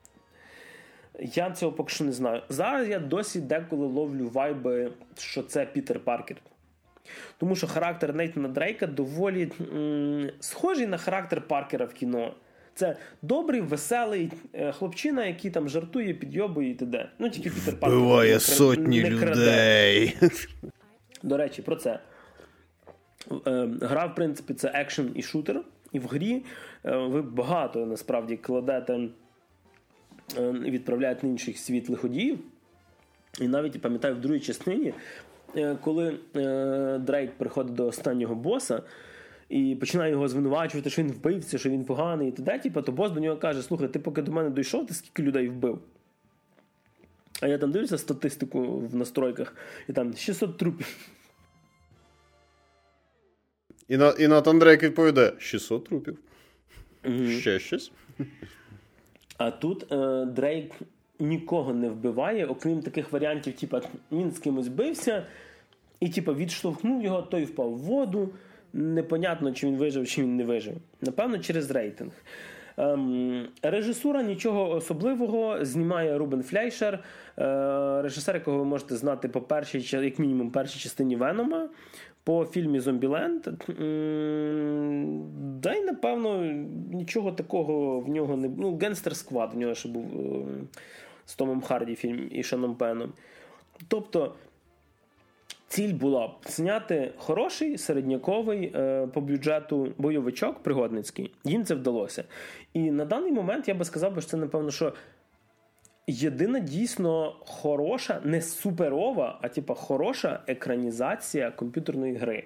я цього поки що не знаю. Зараз я досі деколи ловлю вайби, що це Пітер Паркер. Тому що характер Нейтана Дрейка доволі м, схожий на характер Паркера в кіно. Це добрий, веселий хлопчина, який там жартує, підйобує і т.д. Ну, тільки Пітер Паркер. Буває не, сотні не людей. До речі, про це. Гра, в принципі, це екшен і шутер. І в грі ви багато, насправді, кладете, відправляєте на інших світ лиходіїв. І навіть, пам'ятаю, в другій частині, коли Дрейк приходить до останнього боса, і починає його звинувачувати, що він вбивця, що він поганий і т.д. Типу, то бос до нього каже: слухай, ти поки до мене дійшов, ти скільки людей вбив? А я там дивлюся статистику в настройках, і там шістсот трупів. І, на, і Натан Дрейк відповідає, шістсот трупів. Mm-hmm. Ще щось. А тут е, Дрейк нікого не вбиває, окрім таких варіантів, типу, він з кимось бився, і типу, відштовхнув його, той впав в воду. Непонятно, чи він вижив, чи він не вижив. Напевно, через рейтинг. Ем, режисура нічого особливого, знімає Рубен Флейшер, е, режисер, якого ви можете знати по першій, як мінімум, першій частині Венома, по фільмі «Зомбіленд». Ем, да й, напевно, нічого такого в нього не... Ну, «Генстер Сквад» в нього ще був е, з Томом Харді фільм і Шоном Пеном. Тобто, ціль була б зняти хороший, середняковий, е, по бюджету бойовичок пригодницький. Їм це вдалося. І на даний момент я би сказав, що це, напевно, що єдина дійсно хороша, не суперова, а типа хороша екранізація комп'ютерної гри.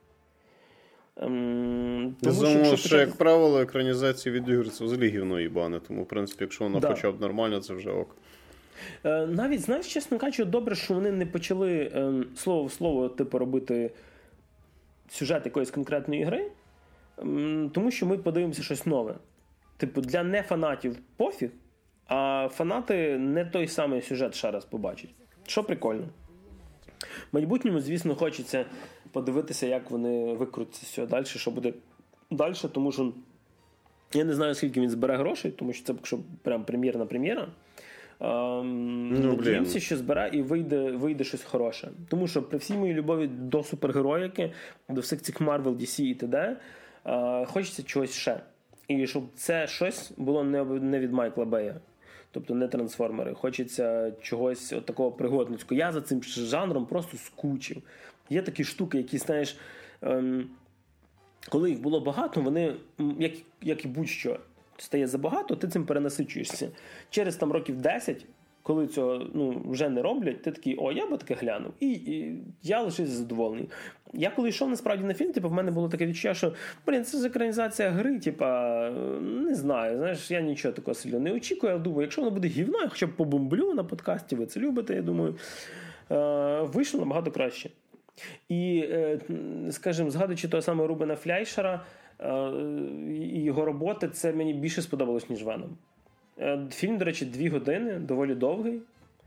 Ем, тому що, що почати... як правило, екранізації від ігор це взагалі гівно їбане. Тому, в принципі, якщо вона да. хоча б нормально, це вже ок. Навіть, знаєш, чесно кажучи, добре, що вони не почали ем, слово в слово типу, робити сюжет якоїсь конкретної гри, ем, тому що ми подивимося щось нове. Типу, для нефанатів пофіг, а фанати не той самий сюжет ще раз побачать. Що прикольно. В майбутньому, звісно, хочеться подивитися, як вони викрутяться з цього далі, що буде далі, тому що я не знаю, скільки він збере грошей, тому що це якщо прям прем'єрна-прем'єра. Um, ну, надіємося, що збере і вийде, вийде щось хороше. Тому що при всій моїй любові до супергероїки, до всіх цих Marvel, ді сі і т.д. Uh, хочеться чогось ще. І щоб це щось було не, не від Майкла Бея. Тобто не трансформери. Хочеться чогось от такого пригодницького. Я за цим жанром просто скучив. Є такі штуки, які, знаєш, ем, коли їх було багато, вони, як, як і будь-що, стає забагато, ти цим перенасичуєшся. Через там років десять, коли цього ну, вже не роблять, ти такий, о, я би таке глянув. І, і я лишився задоволений. Я коли йшов насправді на фільм, типу, в мене було таке відчуття, що, блін, це ж екранізація гри, типа, не знаю, знаєш, я нічого такого сильно не очікую, я думаю, якщо воно буде гівно, я хоча б побомблю на подкасті, ви це любите, я думаю, е, вийшло набагато краще. І, е, скажімо, згадуючи того самого Рубена Флейшера, і його роботи, це мені більше сподобалось, ніж Веном. Фільм, до речі, дві години, доволі довгий.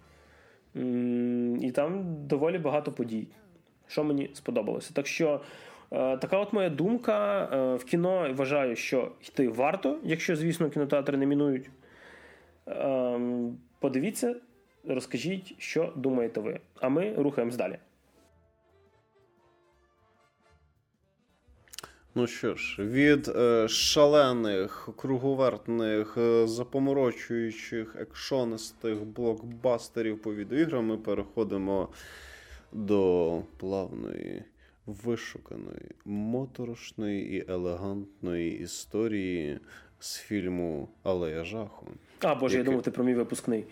І там доволі багато подій, що мені сподобалося. Так що, така от моя думка. В кіно вважаю, що йти варто, якщо, звісно, кінотеатри не мінують. Подивіться, розкажіть, що думаєте ви. А ми рухаємось далі. Ну що ж, від е, шалених, круговертних, е, запоморочуючих, екшонистих блокбастерів по відеоіграм ми переходимо до плавної, вишуканої, моторошної і елегантної історії з фільму «Алея жаху». А, Боже, який... я думав, ти про мій випускний.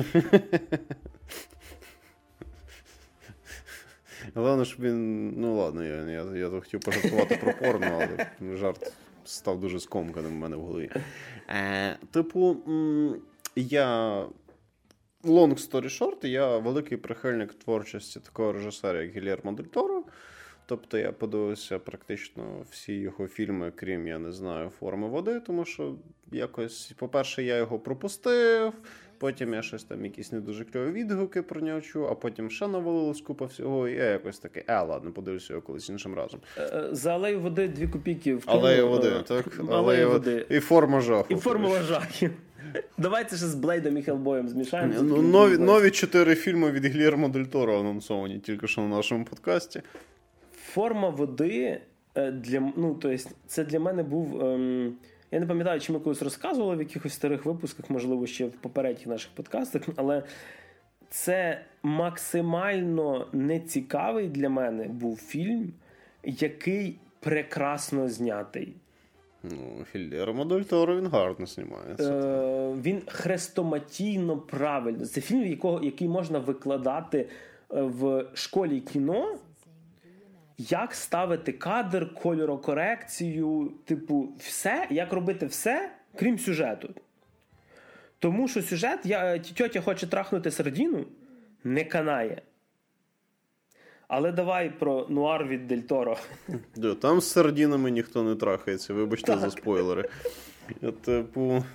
Головне, щоб він... Ну, ладно, я, я, я хотів пожартувати про порно, але жарт став дуже скомканим в мене в голові. Е, типу, я... Long story short, я великий прихильник творчості такого режисера, як Гільєрмо Дель Торо. Тобто я подивився практично всі його фільми, крім, я не знаю, «Форми води», тому що якось, по-перше, я його пропустив, потім я щось там, якісь не дуже кльові відгуки про нього чув, а потім ще навалилось купа всього, і я якось такий, е, ладно, подивлюся його колись іншим разом. За «Алею води» дві копійки вкинув. «Алея води», так? «Алея води». І «Форма жаху». І «Формула жахів». Давайте ще з Блейдом і Хеллбоєм змішаємо. Ну, нові, нові чотири фільми від Гільєрмо Дель Торо анонсовані тільки що на нашому подкасті. «Форма води» для, ну, то есть, це для мене був... Ем, я не пам'ятаю, чи ми колись розказували в якихось старих випусках, можливо, ще в попередніх наших подкастах, але це максимально нецікавий для мене був фільм, який прекрасно знятий. Ну, Гільєрмо Дель Торо, він гарно знімається. Е, він хрестоматійно правильно. Це фільм, якого, який можна викладати в школі кіно, як ставити кадр, кольорокорекцію, типу, все, як робити все, крім сюжету. Тому що сюжет, я, тьотя хоче трахнути сардіну, не канає. Але давай про нуар від Дель Торо. Там з сардінами ніхто не трахається, вибачте так. за спойлери. Типу,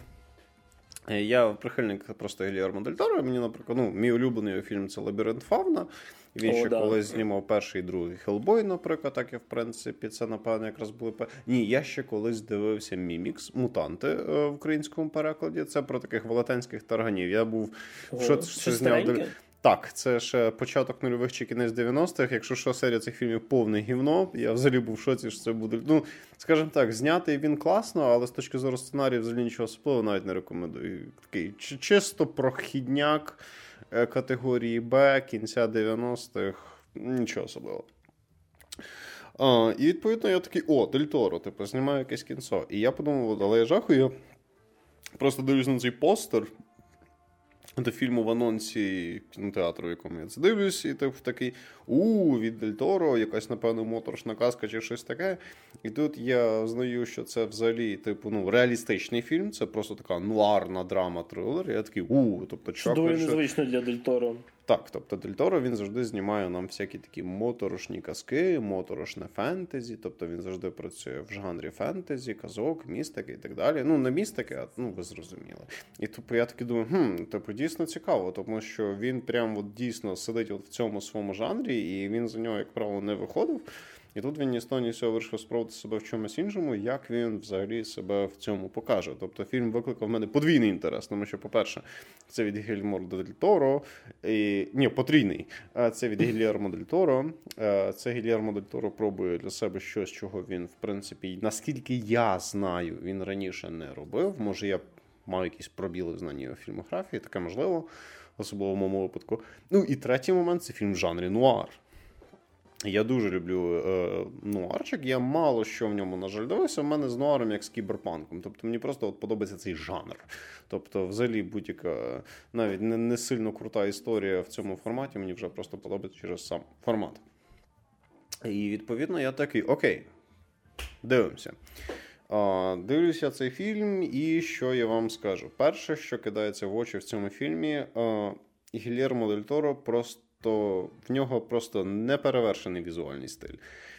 я прихильник просто Гільєрмо Дель Торо, мені, наприклад, ну, мій улюблений фільм – це «Лабіринт Фавна». Він О, ще да. колись знімав перший і другий «Хеллбой», наприклад, так і, в принципі, це, напевно, якраз були... Ні, я ще колись дивився «Мімікс», «Мутанти» в українському перекладі. Це про таких велетенських тарганів. Я був... О, що, що зняв... Так, це ще початок нульових чи кінець дев'яностих. Якщо що, серія цих фільмів повне гівно. Я взагалі був в шоці, що це буде... Ну, скажімо так, знятий він класно, але з точки зору сценарію взагалі нічого особливого навіть не рекомендую. Такий чисто прохідняк категорії Б, кінця дев'яностих, нічого особливого. А, і відповідно я такий, о, Дель Торо, типу, знімаю якесь кінцо. І я подумав, але я жахую, я просто дивлюсь на цей постер до фільму в анонсі кінотеатру, в якому я це дивлюсь, і типу такий, у від Дель Торо, якась, напевно, моторошна казка чи щось таке. І тут я знаю, що це взагалі, типу, ну, реалістичний фільм, це просто така нуарна драма-трилер. Я такий, у, тобто, чувак... Дуже незвично для Дель Торо. Так, тобто Дель Торо, він завжди знімає нам всякі такі моторошні казки, моторошне фентезі, тобто він завжди працює в жанрі фентезі, казок, містики і так далі. Ну, не містики, а, ну, ви зрозуміли. І тобто я таки думаю, хм, типу, дійсно цікаво, тому що він прям от дійсно сидить от в цьому своєму жанрі, і він за нього, як правило, не виходив. І тут він ні з того, ні з цього вирішив спробувати себе в чомусь іншому, як він взагалі себе в цьому покаже. Тобто фільм викликав в мене подвійний інтерес, тому що, по-перше, це від Гільєрмо Дель Торо, і... ні, потрійний. Це від Гільєрмо Дель Торо. Це Гільєрмо Дель Торо пробує для себе щось, чого він, в принципі, наскільки я знаю, він раніше не робив. Може, я маю якісь пробіли в знанні його фільмографії, таке можливо, особливо в моєму випадку. Ну, і третій момент – це фільм в жанрі нуар. Я дуже люблю е, нуарчик, я мало що в ньому, на жаль, дивився, в мене з нуаром як з кіберпанком, тобто мені просто от подобається цей жанр, тобто взагалі будь-яка навіть не, не сильно крута історія в цьому форматі, мені вже просто подобається через сам формат. І відповідно я такий, окей, дивимося. А, дивлюся цей фільм і що я вам скажу. Перше, що кидається в очі в цьому фільмі, а, Гільєрмо Дель Торо просто то в нього просто неперевершений візуальний стиль.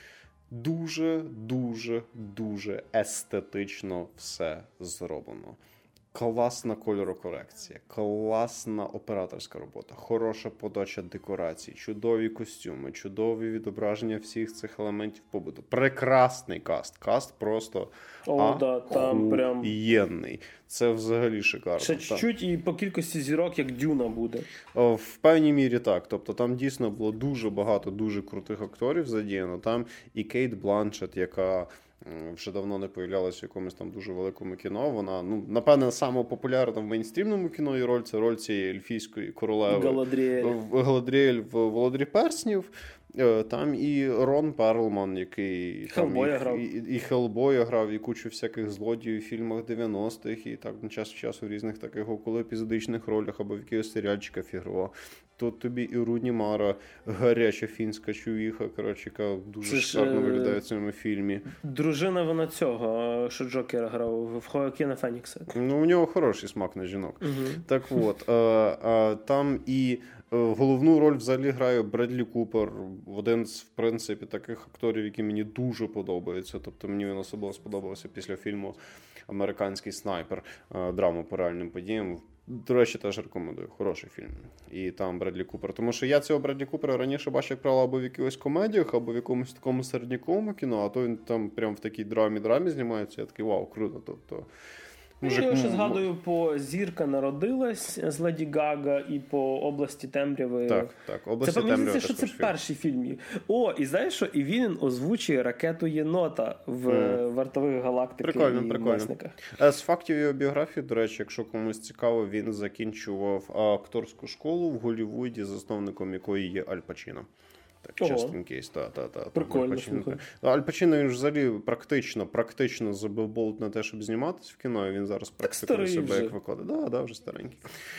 Дуже, дуже, дуже естетично все зроблено. Класна кольорокорекція, класна операторська робота, хороша подача декорацій, чудові костюми, чудові відображення всіх цих елементів побуту. Прекрасний каст. Каст просто О, да, там прям... єнний. Це взагалі шикарно. Ще чуть-чуть і по кількості зірок, як Дюна буде. О, в певній мірі так. Тобто там дійсно було дуже багато дуже крутих акторів задіяно. Там і Кейт Бланшетт, яка вже давно не появлялася в якомусь там дуже великому кіно. Вона, ну, напевне, саме популярна в мейнстрімному кіно і роль, це роль цієї ельфійської королеви. Галадріель. Галадріель в «Володарі перснів». Там і Рон Перлман, який Хеллбоя там, і, і, і Хеллбоя грав, і кучу всяких злодіїв в фільмах дев'яностих, і так на час в часу в різних таких околоепізодичних ролях або в якихось серіальчиках фігурував. Тут тобі і Руні Мара, гаряча фінська чувіха, коротше, яка дуже шикарно виглядає в цьому фільмі. Дружина вона цього, що Джокера грав, в Хоакіна Фенікса. Ну, у нього хороший смак на жінок. Угу. Так от, а, а, там і головну роль взагалі грає Бредлі Купер, один з, в принципі, таких акторів, які мені дуже подобаються. Тобто мені він особливо сподобався після фільму «Американський снайпер», драму по реальним подіям. До речі, теж рекомендую. Хороший фільм. І там Бредлі Купер. Тому що я цього Бредлі Купера раніше бачив, як правило, або в якихось комедіях, або в якомусь такому середняковому кіно, а то він там прям в такій драмі-драмі знімається. Я такий, вау, круто. Тобто... Мужик, я ще згадую по «Зірка народилась» з Леді Гага і по «Області темряви». Так, так. «Області темряви» теж що це фільм. Перший фільм. О, і знаєш що? І він озвучує ракету єнота в mm. «Вартових галактики» прикольно, і прикольно. «Месниках». З фактів його біографії, до речі, якщо комусь цікаво, він закінчував акторську школу в Голлівуді, засновником якої є Аль Пачіно. Так, just in case, та, та, та. Прикольно, слухай. Аль Пачіно, він ж взагалі практично, практично забив болт на те, щоб зніматися в кіно, і він зараз практикує себе вже. Як викладає. Да, да, вже старенький.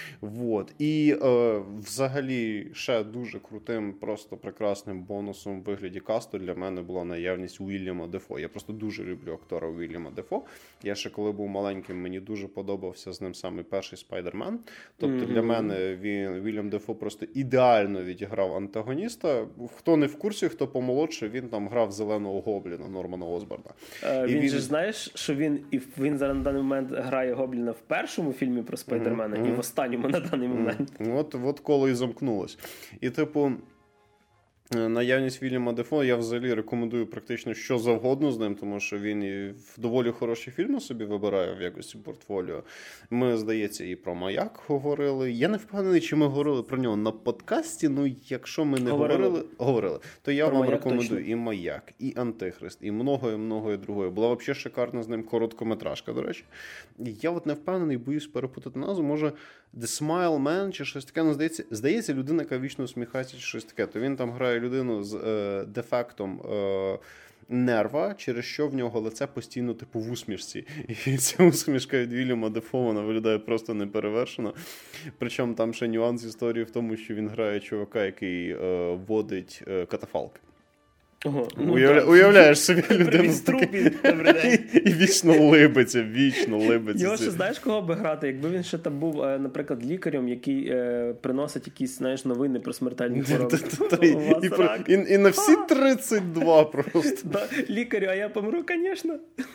Вот. І е, взагалі ще дуже крутим, просто прекрасним бонусом в вигляді касту для мене була наявність Уільяма Дефо. Я просто дуже люблю актора Уільяма Дефо. Я ще коли був маленьким, мені дуже подобався з ним саме перший Спайдермен. Тобто mm-hmm. для мене він, Уільям Дефо просто ідеально відіграв антагоніста. хто не в курсі, хто помолодше, він там грав зеленого гобліна Нормана Осборна. Е, він, він же знаєш, що він і він зараз на даний момент грає гобліна в першому фільмі про Спайдермена mm-hmm. і в останньому на даний момент. Mm-hmm. От, от коло і замкнулось. І типу наявність Вільяма Дефо, я взагалі рекомендую практично що завгодно з ним, тому що він і в доволі хороші фільми собі вибирає в якості портфоліо. Ми, здається, і про «Маяк» говорили. Я не впевнений, чи ми говорили про нього на подкасті, ну якщо ми не говорили, говорили, говорили то я про вам рекомендую точно. І «Маяк», і «Антихрист», і многое-многое другое. Була взагалі шикарна з ним короткометражка, до речі. Я от не впевнений, боюсь перепутати назву, може The Smile Man чи щось таке, ну, здається, здається, людина, яка вічно усміхається чи щось таке, то він там грає людину з е, дефектом е, нерва, через що в нього лице постійно типу в усмішці. І ця усмішка від Вільяма Дефо, вона виглядає просто неперевершено. Причому там ще нюанс історії в тому, що він грає чувака, який е, водить е, катафалки. Ого, ну, Уявля... Уявляєш собі людину з таким... і, і вічно либиться, вічно либиться. Його ще знаєш, кого би грати? Якби він ще там був, наприклад, лікарем, який е, приносить якісь, знаєш, новини про смертельні хвороби. І, і, і на всі тридцять два просто. Лікарю, а я помру, звісно.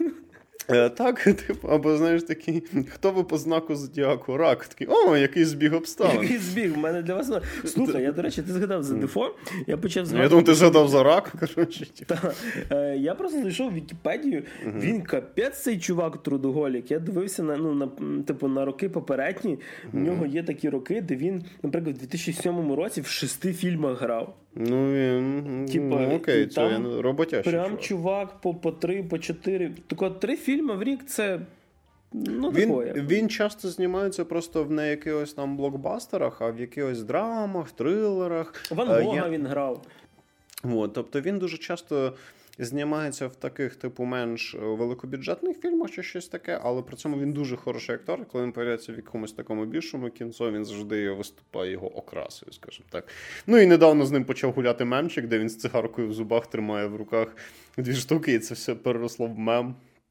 Е, так, типу, або, знаєш, такий, хто ви по знаку зодіаку? Рак. Такий, о, який збіг обставин. Який збіг, в мене для вас... Слухай, я, до речі, ти згадав за Дефо, я почав згадати... Я думаю, ти згадав за рак, коротше. Так, е, я просто знайшов Вікіпедію, угу. Він капець цей чувак трудоголік. Я дивився на, ну, на, типу, на роки попередні, угу. У нього є такі роки, де він, наприклад, в дві тисячі сьомому році в шести фільмах грав. Ну, він, типа, ну окей, це він роботящий прям чувак. чувак по, по три, по чотири. Тако три фільми в рік це, ну, він, такое. Він часто знімається просто в не якихось там блокбастерах, а в якихось драмах, трилерах. Ван Гога Я... він грав. От, тобто він дуже часто знімається в таких, типу, менш великобюджетних фільмах чи щось таке, але при цьому він дуже хороший актор. Коли він появляється в якомусь такому більшому кінцо, він завжди виступає його окрасою, скажімо так. Ну і недавно з ним почав гуляти мемчик, де він з цигаркою в зубах тримає в руках дві штуки, і це все переросло в мем.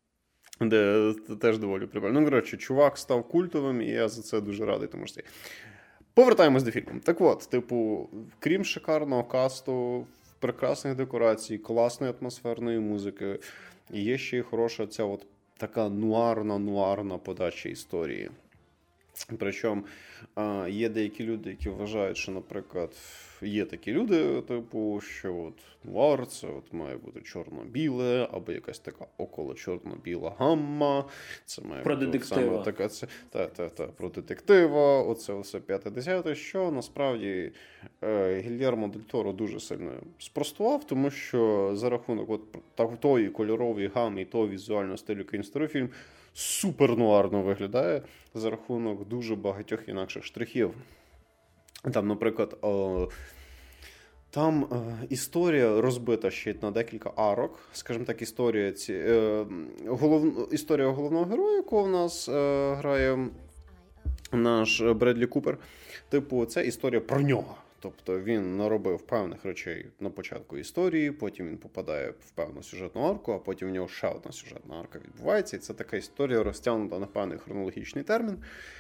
Де теж доволі прикольно. Ну, коротше, чувак став культовим, і я за це дуже радий, тому що... Повертаємось до фільму. Так от, типу, крім шикарного касту, прекрасних декорацій, класної атмосферної музики, є ще й хороша ця от така нуарна-нуарна подача історії. Причому є деякі люди, які вважають, що, наприклад, є такі люди, типу, що от нуар – це от має бути чорно-біле, або якась така около чорно-біла гамма. Це має про бути детектива. Саме така, це, та, та, та, про детектива, оце все п'яте-десяте, що насправді е, Гільєрмо Дель Торо дуже сильно спростував, тому що за рахунок от тої кольорової гамми і того візуального стилю, який створив фільм, супер-нуарно виглядає за рахунок дуже багатьох інакших штрихів. Там, наприклад, о, там е, історія розбита ще на декілька арок. Скажімо так, історія, ці, е, голов, історія головного героя, якого в нас е, грає наш Бредлі Купер. Типу, це історія про нього. Тобто він наробив певних речей на початку історії, потім він попадає в певну сюжетну арку, а потім в нього ще одна сюжетна арка відбувається. І це така історія розтягнута на певний хронологічний термін,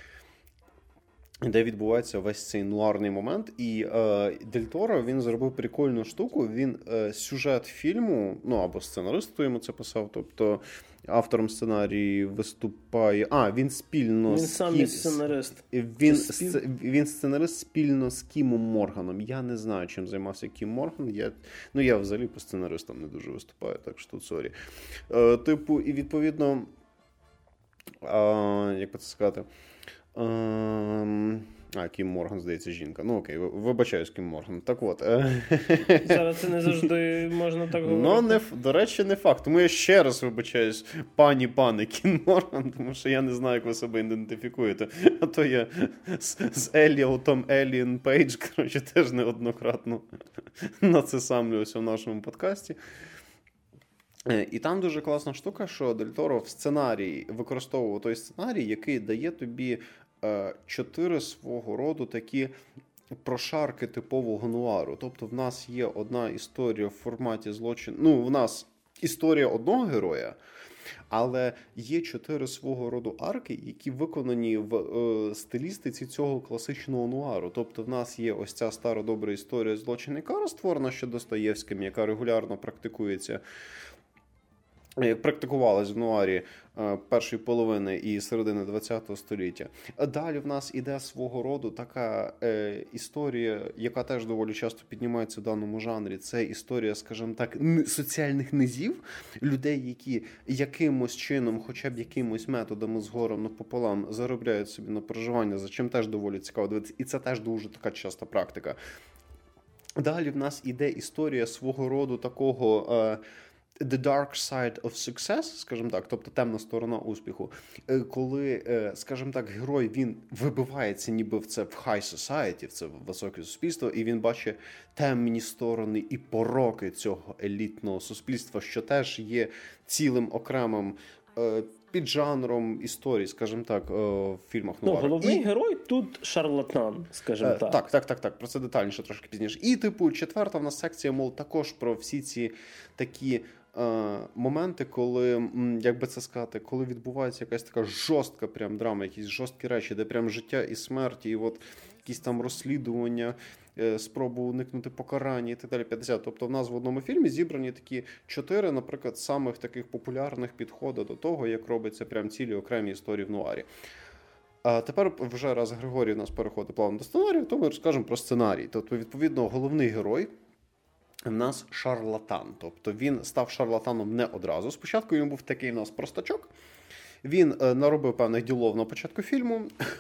де відбувається весь цей нуарний момент. І е, Дель Торо, він зробив прикольну штуку. Він е, сюжет фільму, ну або сценарист, хто йому це писав, тобто автором сценарії виступає... А, він спільно він з... сам Кім... сценарист. Він, спів... він сценарист спільно з Кімом Морганом. Я не знаю, чим займався Кім Морган. Я... Ну, я взагалі по сценаристам не дуже виступаю, так що тут сорі. Е, типу, і відповідно... Е, як би це сказати... Е, А, Кім Морган, здається, жінка. Ну окей, вибачаюсь, Кім Морган. Так от. Зараз це не завжди можна так говорити. Ну, не, до речі, не факт. Тому я ще раз вибачаюсь, пані, пане Кім Морган, тому що я не знаю, як ви себе ідентифікуєте. А то я з, з Еліотом Еліан Пейдж, коротше, теж неоднократно нацесамлююся в нашому подкасті. І там дуже класна штука, що Дель Торо в сценарії використовував той сценарій, який дає тобі чотири свого роду такі прошарки типового нуару. Тобто в нас є одна історія в форматі злочин. Ну, в нас історія одного героя, Але є чотири свого роду арки, які виконані в е, стилістиці цього класичного нуару. Тобто в нас є ось ця стара добра історія злочинника, створена ще Достоєвським, яка регулярно практикується, як практикувалась в нуарі першої половини і середини ХХ століття. А далі в нас іде свого роду така е, історія, яка теж доволі часто піднімається в даному жанрі. Це історія, скажімо так, соціальних низів, людей, які якимось чином, хоча б якимось методами згорем напополам заробляють собі на проживання, за чим теж доволі цікаво дивитися. І це теж дуже така часта практика. Далі в нас іде історія свого роду такого... Е, The dark side of success, скажімо так, тобто темна сторона успіху, коли, скажімо так, герой, він вибивається ніби в це в high society, в це високе суспільство, і він бачить темні сторони і пороки цього елітного суспільства, що теж є цілим окремим піджанром історії, скажімо так, в фільмах нуару. Ну, головний і... герой тут шарлатан, скажімо е, так. Так, так, так, так, про це детальніше трошки пізніше. І, типу, четверта в нас секція, мов, також про всі ці такі е, моменти, коли, як би це сказати, коли відбувається якась така жорстка прям драма, якісь жорсткі речі, де прям життя і смерть, і от якісь там розслідування, спробу уникнути покарання і так далі, п'ятдесят. Тобто в нас в одному фільмі зібрані такі чотири, наприклад, самих таких популярних підходи до того, як робиться прям цілі окремі історії в нуарі. А тепер вже раз Григорій у нас переходить плавно до сценарію, то ми розкажемо про сценарій. Тобто, відповідно, головний герой в нас шарлатан. Тобто він став шарлатаном не одразу. Спочатку він був такий у нас простачок. Він наробив певних ділов на початку фільму.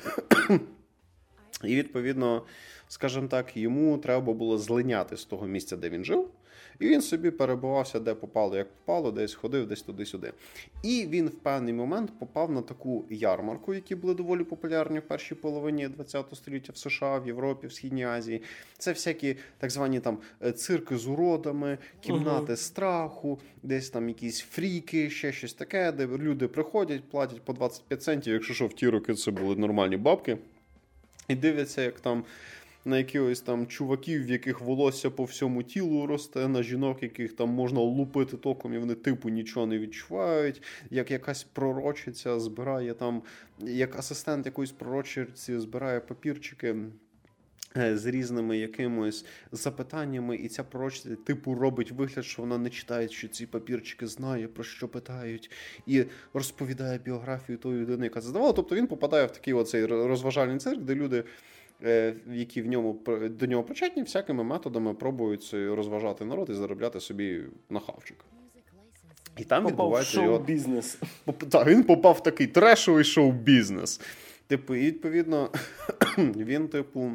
І, відповідно, скажімо так, йому треба було злиняти з того місця, де він жив. І він собі перебувався, де попало, як попало, десь ходив, десь туди-сюди. І він в певний момент попав на таку ярмарку, які були доволі популярні в першій половині ХХ століття в США, в Європі, в Східній Азії. Це всякі так звані там цирки з уродами, кімнати uh-huh. страху, десь там якісь фріки, ще щось таке, де люди приходять, платять по двадцять п'ять центів, якщо що в ті роки це були нормальні бабки. І дивляться, як там на якихось там чуваків, в яких волосся по всьому тілу росте, на жінок, яких там можна лупити током, і вони типу нічого не відчувають, як якась пророчиця збирає там, як асистент якоїсь пророчиці збирає папірчики з різними якимось запитаннями, і ця пророчиця типу робить вигляд, що вона не читає, що ці папірчики знає, про що питають, і розповідає біографію тої людини, яка це здавала. Тобто він попадає в такий оцей розважальний цирк, де люди, які в ньому, до нього причетні, всякими методами пробують розважати народ і заробляти собі на хавчик. І там попав відбувається в шоу-бізнес. Його... Так, він попав в такий трешовий шоу-бізнес. Типу, і відповідно, він, типу,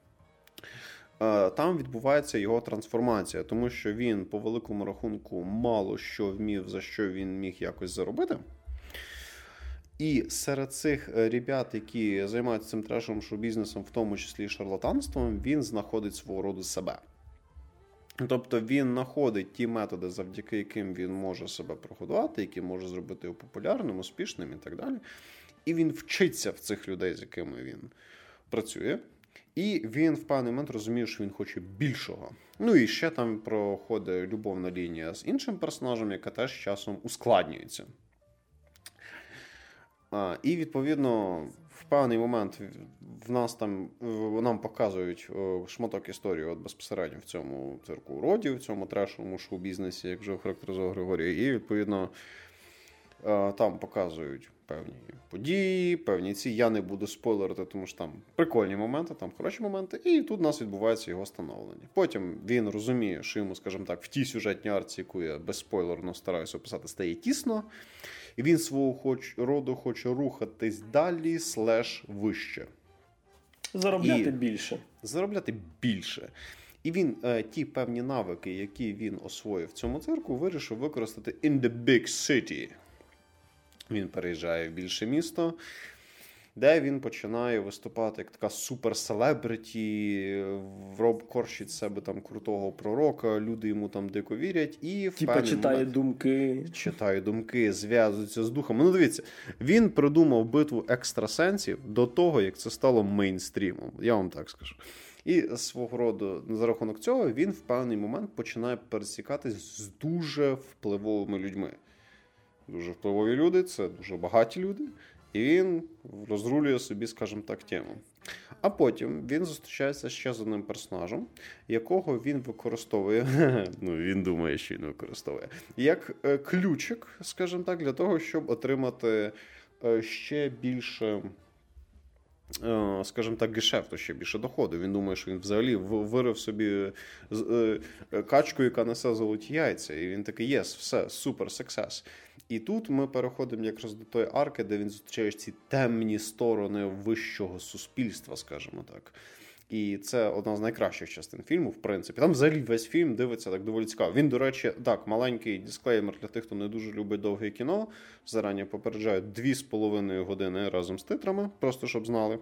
там відбувається його трансформація, тому що він, по великому рахунку, мало що вмів, за що він міг якось заробити. І серед цих ребят, які займаються цим трешовим шоу-бізнесом, в тому числі шарлатанством, він знаходить свого роду себе. Тобто він знаходить ті методи, завдяки яким він може себе прогодувати, які може зробити його популярним, успішним і так далі. І він вчиться в цих людей, з якими він працює. І він в певний момент розуміє, що він хоче більшого. Ну і ще там проходить любовна лінія з іншим персонажем, яка теж часом ускладнюється. А, і, відповідно, в певний момент в нас там, нам показують шматок історії от безпосередньо в цьому цирку уродів, в цьому трешовому шоу-бізнесі, як вже охарактеризував Григорій. І, відповідно, там показують певні події, певні ці. Я не буду спойлерити, тому що там прикольні моменти, там хороші моменти. І тут у нас відбувається його становлення. Потім він розуміє, що йому, скажімо так, в тій сюжетній арці, яку я безспойлерно стараюся описати, стає тісно. І він свого хоч, роду хоче рухатись далі, слеш вище. Заробляти і більше. Заробляти більше. І він е, ті певні навики, які він освоїв в цьому цирку, вирішив використати in the big city. Він переїжджає в більше місто, де він починає виступати як така супер-селебриті, роб корчить себе там крутого пророка, люди йому там дико вірять. І в Типа читає момент, думки. Читає думки, зв'язується з духами. Ну, дивіться, він придумав битву екстрасенсів до того, як це стало мейнстрімом. Я вам так скажу. І свого роду, за рахунок цього, він в певний момент починає пересікатись з дуже впливовими людьми. дуже впливові люди, це дуже багаті люди, і він розрулює собі, скажімо так, тему. А потім він зустрічається ще з одним персонажем, якого він використовує, ну він думає, що він використовує, як ключик, скажімо так, для того, щоб отримати ще більше, скажімо так, гешефту, ще більше доходу. Він думає, що він взагалі вирив собі качку, яка несе золоті яйця. І він такий, єс, все, супер, сексес. І тут ми переходимо якраз до тої арки, де він зустрічає ці темні сторони вищого суспільства, скажімо так. І це одна з найкращих частин фільму, в принципі. Там взагалі весь фільм дивиться так доволі цікаво. Він, до речі, так, маленький дисклеймер для тих, хто не дуже любить довге кіно. Зарані попереджаю, дві з половиною години разом з титрами, просто щоб знали.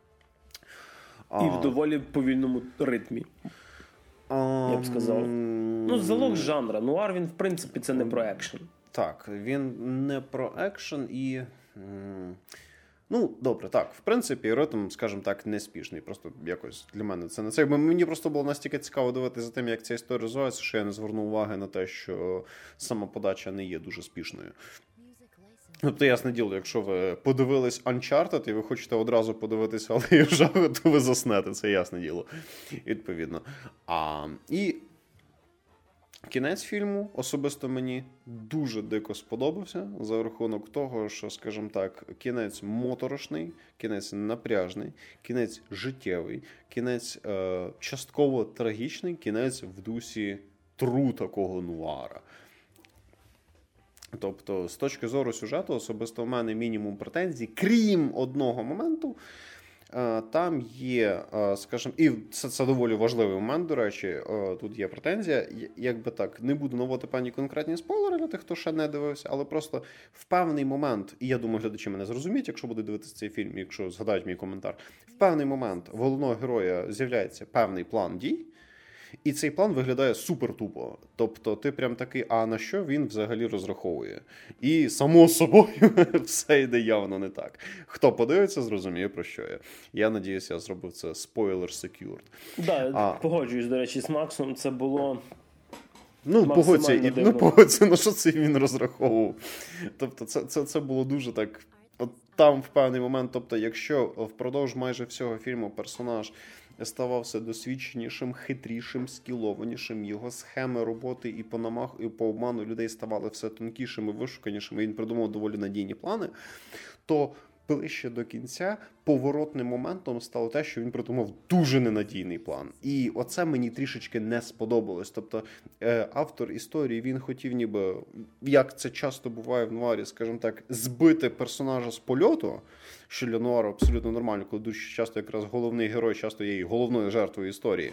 І в доволі повільному ритмі, я б сказав. Ну, залог жанра. Нуар, він, в принципі, це не про екшен. Так, він не про екшен і... Ну, добре, так, в принципі, ритм, скажімо так, не спішний. Просто якось для мене це не це. Мені просто було настільки цікаво дивитися за тим, як ця історія розвивається, що я не звернув уваги на те, що сама подача не є дуже спішною. Тобто, ясне діло, якщо ви подивились Uncharted і ви хочете одразу подивитися Алею Жаху, то ви заснете, це ясне діло. Відповідно. А, і кінець фільму особисто мені дуже дико сподобався за рахунок того, що, скажімо так, кінець моторошний, кінець напряжний, кінець життєвий, кінець е, частково трагічний, кінець в дусі тру такого нуара. Тобто, з точки зору сюжету, особисто в мене мінімум претензій, крім одного моменту. Там є, скажімо, і це, це доволі важливий момент, до речі, тут є претензія, якби так, не буду наводити певні конкретні спойлери для тих, хто ще не дивився, але просто в певний момент, і я думаю, глядачі мене зрозуміють, якщо будуть дивитися цей фільм, якщо згадають мій коментар, в певний момент в головного героя з'являється певний план дій, і цей план виглядає супер тупо. Тобто ти прям такий, а на що він взагалі розраховує? І само собою все йде явно не так. Хто подивиться, зрозуміє, про що я. Я надіюся, я зробив це spoiler secured. Да, а... погоджуюсь, до речі, з Максом. Це було Ну, погодься, і, ну, погодься, на що це він розраховував. Тобто це, це, це було дуже так... От там в певний момент, тобто якщо впродовж майже всього фільму персонаж ставав все досвідченішим, хитрішим, скілованішим, його схеми роботи і по намах, і по обману людей ставали все тонкішими, вишуканішими, він придумав доволі надійні плани, то ближче до кінця поворотним моментом стало те, що він придумав дуже ненадійний план. І оце мені трішечки не сподобалось. Тобто е, автор історії, він хотів ніби, як це часто буває в нуарі, скажімо так, збити персонажа з польоту, що для нуару абсолютно нормально, коли дуже часто якраз головний герой часто є і головною жертвою історії.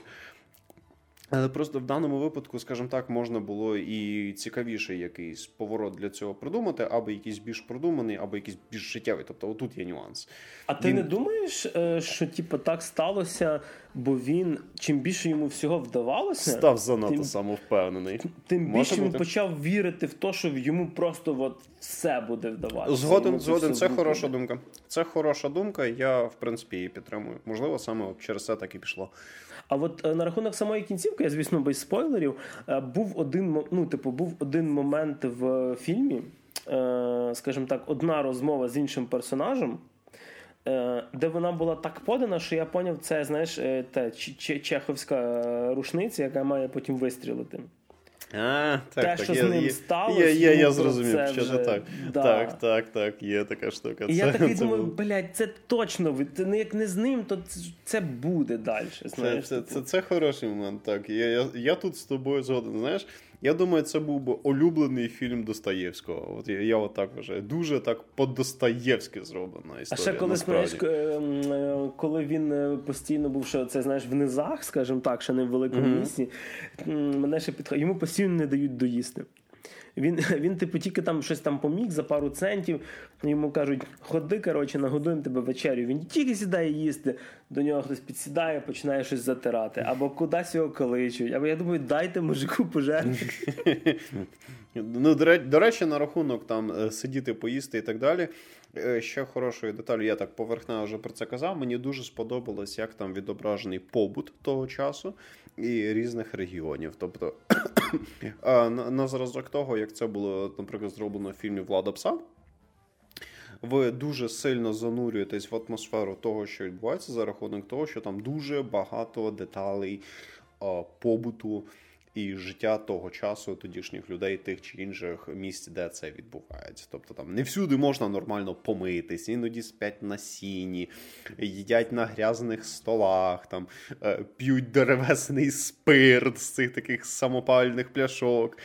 Але просто в даному випадку, скажімо так, можна було і цікавіший якийсь поворот для цього придумати, або якийсь більш продуманий, або якийсь більш життєвий. Тобто отут є нюанс. А ти він... не думаєш, що типу, так сталося, бо він, чим більше йому всього вдавалося... Став занадто тим... самовпевнений. Тим більше він почав вірити в те, що йому просто от все буде вдаватися. Згоден, згоден. Це буде. Хороша думка. Це хороша думка, я, в принципі, її підтримую. Можливо, саме через це так і пішло. А от на рахунок самої кінцівки, я, звісно, без спойлерів, був один, ну, типу, був один момент в фільмі, скажімо так, одна розмова з іншим персонажем, де вона була так подана, що я поняв, це, знаєш, та чеховська рушниця, яка має потім вистрілити. А, так, Те, так, що є, з ним є, сталося, є, є, я зрозумів, що вже, так. Да. Так, так, так, є така штука. І це, я такий це думаю, був... блядь, це точно, це, як не з ним, то це, це буде далі. Знаєш, це, це, це, це хороший момент, так. Я, я, я тут з тобою згоден, знаєш, я думаю, це був би улюблений фільм Достоєвського. От я, я отак вважаю. Дуже так по-достоєвськи зроблена історія. А ще коли, знаєш, коли він постійно був, що це, знаєш, в низах, скажімо так, ще не в великому mm-hmm. місці, мене ще підходить, йому постійно не дають доїсти. Він, він типу, тільки там щось там поміг за пару центів, йому кажуть, ходи, коротше, нагодуємо тебе вечерю. Він тільки сідає їсти, до нього хтось підсідає, починає щось затирати. Або кудись його кличуть. Або я думаю, дайте мужику пожерти. Ну, до, до речі, на рахунок там сидіти, поїсти і так далі. Ще хорошою деталю, я так поверхнево вже про це казав, мені дуже сподобалось, як там відображений побут того часу і різних регіонів. Тобто на, на зразок того, як це було, наприклад, зроблено в фільмі «Влада пса», ви дуже сильно занурюєтесь в атмосферу того, що відбувається за рахунок того, що там дуже багато деталей а, побуту і життя того часу, тодішніх людей, тих чи інших місць, де це відбувається. Тобто там не всюди можна нормально помитись, іноді спять на сіні, їдять на грязних столах, там, п'ють деревесний спирт з цих таких самопальних пляшок.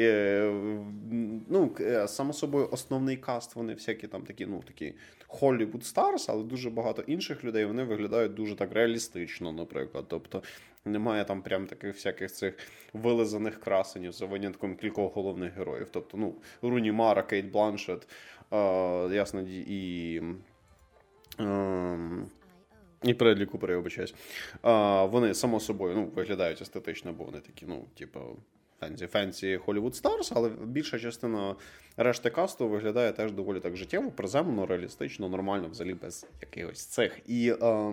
Ну, само собою, основний каст, вони всякі там такі, ну, такі Hollywood Stars, але дуже багато інших людей, вони виглядають дуже так реалістично, наприклад. Тобто немає там прям таких всяких цих вилизаних красенів за винятком кількох головних героїв. Тобто, ну, Руні Мара, Кейт Бланшетт, е, ясно, і... Е, І Бредлі Купер, я вибачаюсь. Е, вони, само собою, ну, виглядають естетично, бо вони такі, ну, типу... фенсі Hollywood Stars, але більша частина решти касту виглядає теж доволі так життєво, приземлено, реалістично, нормально, взагалі без якихось цих. І е,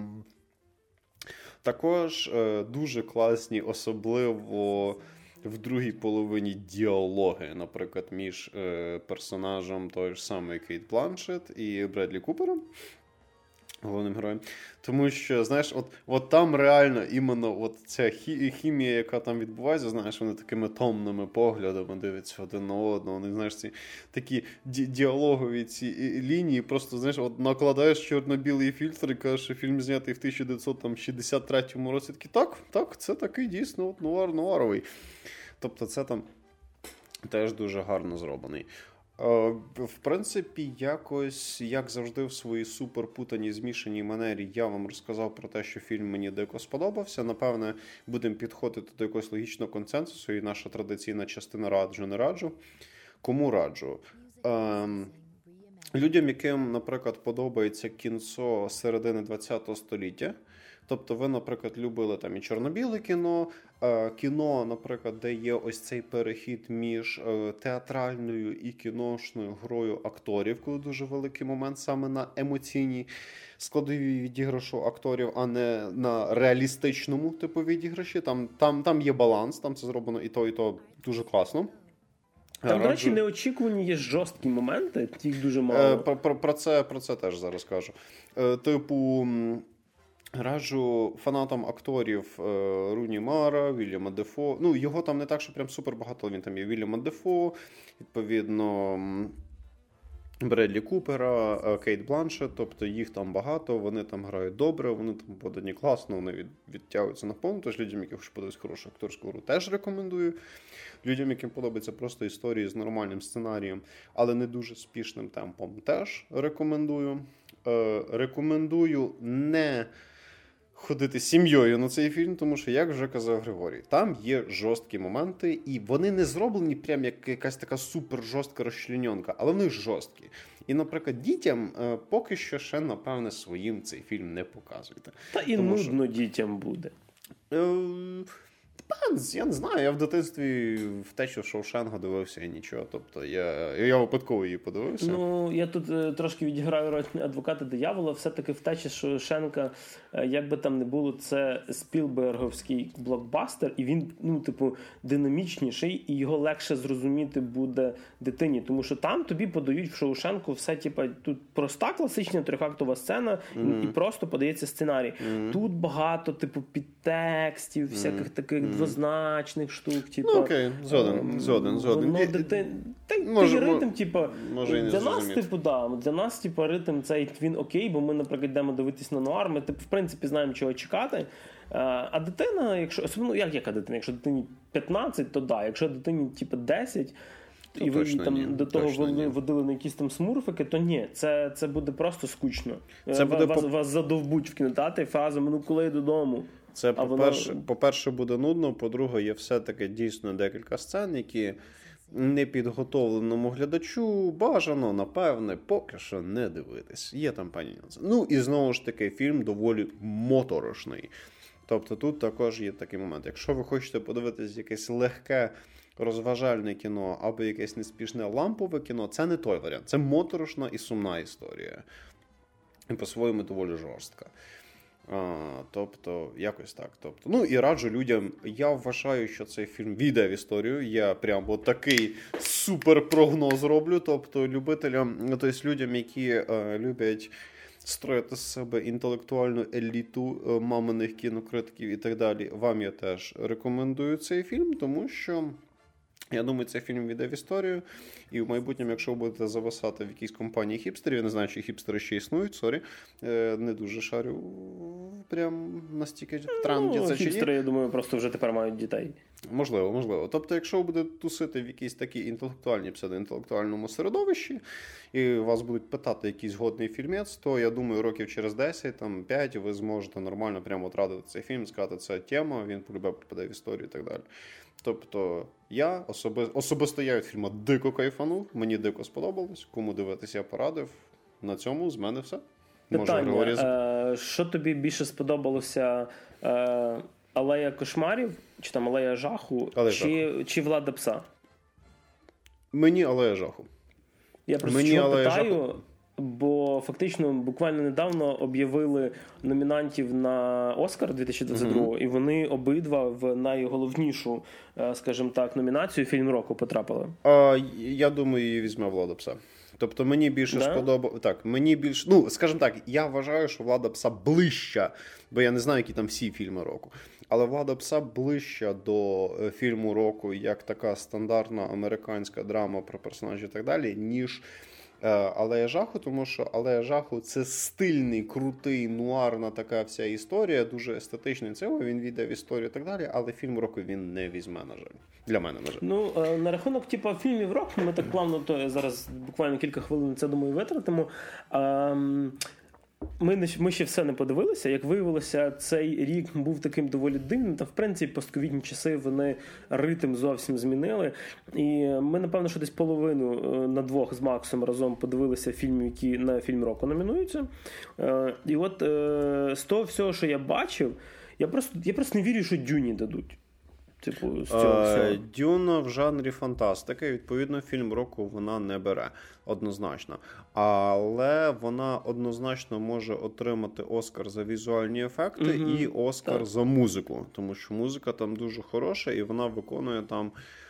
також е, дуже класні, особливо в другій половині діалоги, наприклад, між е, персонажем той ж самий Кейт Бланшетт і Бредлі Купером, головним героєм. Тому що, знаєш, от, от там реально іменно от ця хімія, яка там відбувається, знаєш, вони такими томними поглядами дивляться один на одного. Вони, знаєш, ці такі ді- діалогові ці лінії, просто, знаєш, от накладаєш чорно-білий фільтр і кажеш, що фільм знятий в тисяча дев'ятсот шістдесят третьому році. Такі, так, так, це такий дійсно от нуар-нуаровий. Тобто це там теж дуже гарно зроблений. В принципі, якось, як завжди, в своїй суперпутаній, змішаній манері я вам розказав про те, що фільм мені дико сподобався. Напевне, будемо підходити до якогось логічного консенсусу, і наша традиційна частина раджу, не раджу. Кому раджу? Ем, людям, яким, наприклад, подобається кінцо середини ХХ століття, тобто ви, наприклад, любили там і чорно-біле кіно, кіно, наприклад, де є ось цей перехід між театральною і кіношною грою акторів, коли дуже великий момент саме на емоційній складовій відіграшу акторів, а не на реалістичному типу відіграші. Там, там, там є баланс, там це зроблено і то, і то дуже класно. Там, до речі, неочікувані є жорсткі моменти, їх дуже мало. Про, про, про, це, про це теж зараз кажу. Типу... Раджу фанатам акторів е, Руні Мара, Вільяма Дефо. Ну, його там не так, що прям супер багато, він там є Вільяма Дефо, відповідно, Бредлі Купера, Кейт Бланшетт, тобто їх там багато, вони там грають добре, вони там подані класно, вони від, відтягуються на повну. Тож людям, яким хочуть подивитися хорошу акторську гру, теж рекомендую. Людям, яким подобаються просто історії з нормальним сценарієм, але не дуже спішним темпом, теж рекомендую. Е, рекомендую не ходити з сім'єю на цей фільм, тому що, як вже казав Григорій, там є жорсткі моменти, і вони не зроблені прям як якась така супер жорстка розчленьонка, але вони жорсткі. І, наприклад, дітям е, поки що ще, напевне, своїм цей фільм не показуйте. Та і тому, нудно що... дітям буде. Е, Я не знаю, я в дитинстві втечу Шоушенга дивився і нічого, тобто я, я випадково її подивився. Ну, я тут е, трошки відіграю роль адвоката диявола, все-таки втеча Шоушенка, е, як би там не було, це спілберговський блокбастер, і він, ну, типу, динамічніший, і його легше зрозуміти буде дитині, тому що там тобі подають в Шоушенку все, типу, тут проста класична трьохактова сцена, mm-hmm. і, і просто подається сценарій. Mm-hmm. Тут багато, типу, підтекстів, всяких mm-hmm. таких mm-hmm. двозначних штук, типу. Ну, окей, згоден, згоден, згоден. Ну, дити... Та, може, ти ритм, типу, для нас, типу, да, для нас, типу, ритм цей, він окей, бо ми, наприклад, йдемо дивитись на нуар, ми, типу, в принципі, знаємо, чого чекати. А дитина, якщо, особливо, як яка дитина? Якщо дитині п'ятнадцять, то да, якщо дитині, типу, десять, то і ви там ні, до того водили, водили на якісь там смурфики, то ні, це, це буде просто скучно. Це буде вас, по... вас задовбуть в кінотеатрі фразами, ну, коли я додому. Це, по-перше, вона... по-перше, буде нудно, по-друге, є все-таки дійсно декілька сцен, які непідготовленому глядачу бажано, напевне, поки що не дивитись. Є там пані нюанси. Ну, і знову ж таки, фільм доволі моторошний. Тобто тут також є такий момент. Якщо ви хочете подивитись якесь легке розважальне кіно або якесь неспішне лампове кіно, це не той варіант. Це моторошна і сумна історія. І по-своєму доволі жорстка. А, тобто, якось так. Тобто, ну і раджу людям. Я вважаю, що цей фільм війде в історію. Я прямо такий суперпрогноз роблю. Тобто, любителям, тобто людям, які е, люблять строїти з себе інтелектуальну еліту е, маминих кінокритиків і так далі, вам я теж рекомендую цей фільм, тому що я думаю, цей фільм війде в історію, і в майбутньому, якщо ви будете зависати в якійсь компанії хіпстерів, я не знаю, чи хіпстери ще існують, сорі, не дуже шарю прям настільки в тренді ну, це чи ні. Хіпстери, я думаю, просто вже тепер мають дітей. Можливо, можливо. Тобто, якщо ви будете тусити в якійсь такій інтелектуальній, псевдоінтелектуальному середовищі, і вас будуть питати якийсь годний фільмець, то, я думаю, років через десять, там, п'ять ви зможете нормально прямо отрадити цей фільм, сказати, це тема, він полюбе попаде в історію і так далі. Тобто, я особи... особисто я від фільму дико кайфанув, мені дико сподобалось, кому дивитися я порадив. На цьому з мене все. Питання, е- що тобі більше сподобалося, е- Алея кошмарів, чи там Алея жаху, Алея чи, жаху. чи Влада пса? Мені Алея жаху. Я просто мені чого Алея питаю, жаху. Бо фактично буквально недавно об'явили номінантів на Оскар дві тисячі двадцять другого, mm-hmm. і вони обидва в найголовнішу, скажімо так, номінацію фільм року потрапили. А, я думаю, її візьме Влада пса. Тобто мені більше да? сподобалося. Так, мені більше. Ну, скажімо так, я вважаю, що Влада пса ближча, бо я не знаю, які там всі фільми року. Але Влада пса ближча до фільму року, як така стандартна американська драма про персонажів і так далі, ніж Алея жаху, тому що Алея жаху – це стильний, крутий, нуарна така вся історія, дуже естетичний цього, він війде в історію і так далі, але фільм року він не візьме, на жаль. Для мене, на жаль. Ну, на рахунок типу, фільмів року, ми так плавно, то зараз буквально кілька хвилин це, думаю, витратимо. Ем... Ми, ми ще все не подивилися. Як виявилося, цей рік був таким доволі дивним, та в принципі постковідні часи вони ритм зовсім змінили. І ми, напевно, що десь половину на двох з Максом разом подивилися фільмів, які на фільм року номінуються. І от з того всього, що я бачив, я просто, я просто не вірю, що Дюні дадуть. Типу, з цього всього. Дюна в жанрі фантастики, відповідно, фільм року вона не бере, однозначно. Але вона однозначно може отримати Оскар за візуальні ефекти mm-hmm. і Оскар так. за музику, тому що музика там дуже хороша і вона виконує там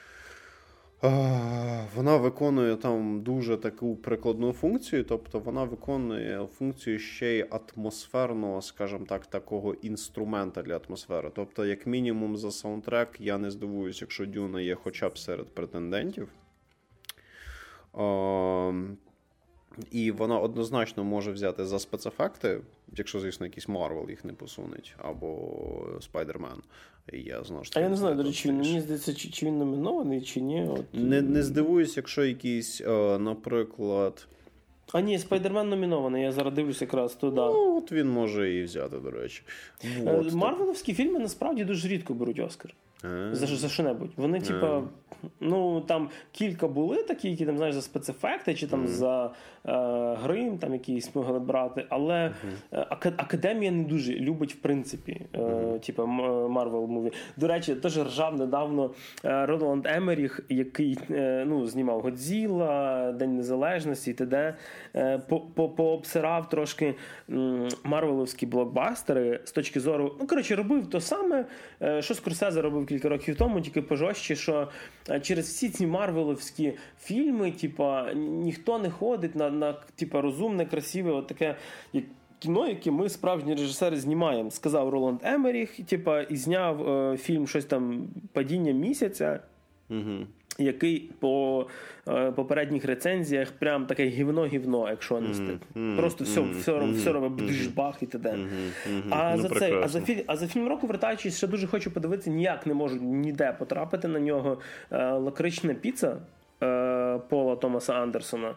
Вона виконує там дуже таку прикладну функцію, тобто вона виконує функцію ще й атмосферного, скажімо так, такого інструмента для атмосфери. Тобто, як мінімум за саундтрек я не здивуюсь, якщо Дюна є хоча б серед претендентів. І вона однозначно може взяти за спецефекти, якщо, звісно, якийсь Марвел їх не посунуть, або Спайдермен. Я, знову ж таки, а я не знаю, до речі, мені здається, чи, чи він номінований, чи ні. От... Не, не здивуюсь, якщо якийсь, наприклад... А ні, Спайдермен номінований, я зараз дивлюсь якраз туди. Ну, от він може і взяти, до речі. Вот. Марвеловські фільми насправді дуже рідко беруть Оскар. За, за що-небудь. Вони, типа, ну, там кілька були такі, які, там, знаєш, за спецефекти, чи там mm-hmm. за е, грим, там якісь могли брати, але mm-hmm. ак- Академія не дуже любить, в принципі, е, mm-hmm. типа, Marvel муві. До речі, теж ржав недавно е, Роланд Емеріх, який, е, ну, знімав Годзілла, День Незалежності і т.д. Е, по, по, пообсирав трошки м, марвеловські блокбастери з точки зору, ну, коротше, робив то саме, е, що Скорсезе робив кілька років тому, тільки пожорстче, що через всі ці марвеловські фільми, типа, ніхто не ходить на, на типа, розумне, красиве, от таке кіно, яке ми, справжні режисери, знімаємо. Сказав Роланд Емеріх, типа, і зняв е, фільм щось там «Падіння місяця», угу. який по е, попередніх рецензіях прям таке гівно-гівно, якщо не стик. Mm-hmm. Просто все, mm-hmm. все, все, все робить бдж-бах і т.д. Mm-hmm. А, ну, за цей, а, за філь, а за фільм року, вертаючись, ще дуже хочу подивитися, ніяк не можу ніде потрапити на нього. Е, «Лакрична піца» е, Пола Томаса Андерсона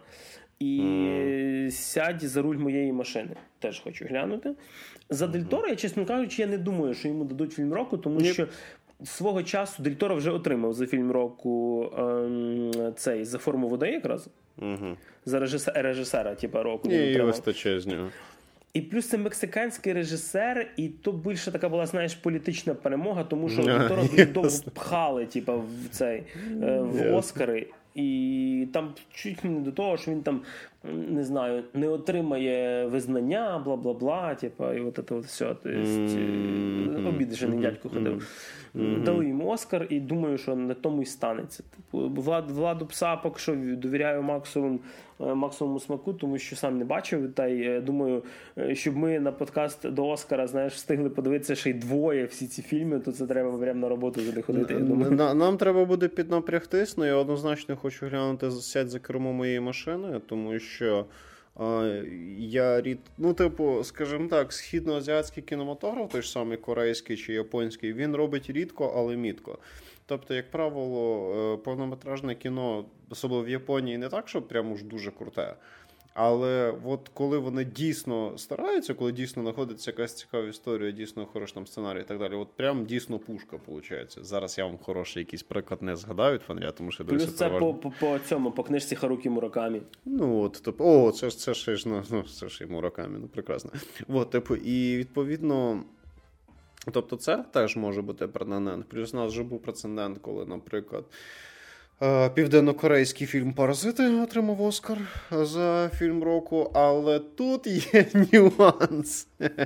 і mm. «Сядь за руль моєї машини». Теж хочу глянути. За Дель Торо, я, чесно кажучи, я не думаю, що йому дадуть фільм року, тому yep. що свого часу Дель Торо вже отримав за фільм року ем, цей «За форму води» якраз. Угу. За режисера, режисера типу, року. І вистачає з нього. І плюс це мексиканський режисер, і то більше така була, знаєш, політична перемога, тому що Дель Торо дуже довго пхали типу, в цей, в Оскари. І там чуть не до того, що він там, не знаю, не отримає визнання, бла-бла-бла, типа, і от це от все. Тобто, mm-hmm. обідешений дядько ходив. Mm-hmm. Дали йому Оскар, і думаю, що на тому й станеться. Типу, Влад, Владу Пса поки що довіряю максимум, максимуму смаку, тому що сам не бачив. Та й думаю, щоб ми на подкаст до Оскара, знаєш, встигли подивитися ще й двоє всі ці фільми, то це треба прямо на роботу туди ходити. Я думаю. На, нам треба буде піднапрягтись, але я однозначно хочу глянути «Сядь за кермо моєї машини», тому що а, я рід... ну, типу, скажімо так, східноазіатський кінематограф, той ж самий корейський чи японський, він робить рідко, але мітко. Тобто, як правило, повнометражне кіно, особливо в Японії, не так, що прямо ж дуже круте. Але от коли вони дійсно стараються, коли дійсно знаходиться якась цікава історія, дійсно хороший там сценарій і так далі, от прям дійсно пушка, виходить. Зараз я вам хороший якийсь приклад не згадаю, фанря, тому що... Плюс це переважно... по, по, по цьому, по книжці Харукі Муракамі. Ну, от, тобто, о, це ж це ж, ну, ну, це ж і Муракамі, ну, прекрасно. От, типу, і відповідно... Тобто це теж може бути претендент. Плюс у нас вже був прецедент, коли, наприклад, південно-корейський фільм «Паразити» отримав Оскар за фільм року, але тут є нюанс.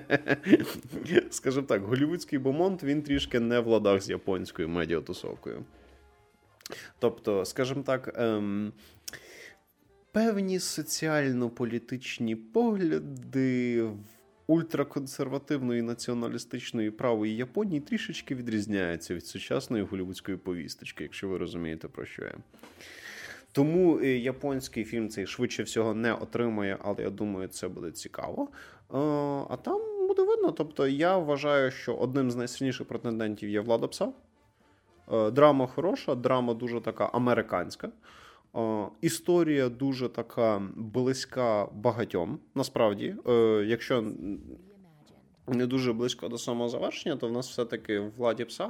Скажімо так, голлівудський бомонд, він трішки не в ладах з японською медіатусовкою. Тобто, скажімо так, ем, певні соціально-політичні погляди в ультраконсервативної націоналістичної правої Японії трішечки відрізняється від сучасної голлівудської повісточки, якщо ви розумієте, про що я. Тому японський фільм цей швидше всього не отримає, але я думаю, це буде цікаво. А там буде видно. Тобто я вважаю, що одним з найсильніших претендентів є Влада Пса. Драма хороша, драма дуже така американська. О, історія дуже така близька багатьом, насправді. Е, якщо не дуже близько до самого завершення, то в нас все-таки в Владі Пса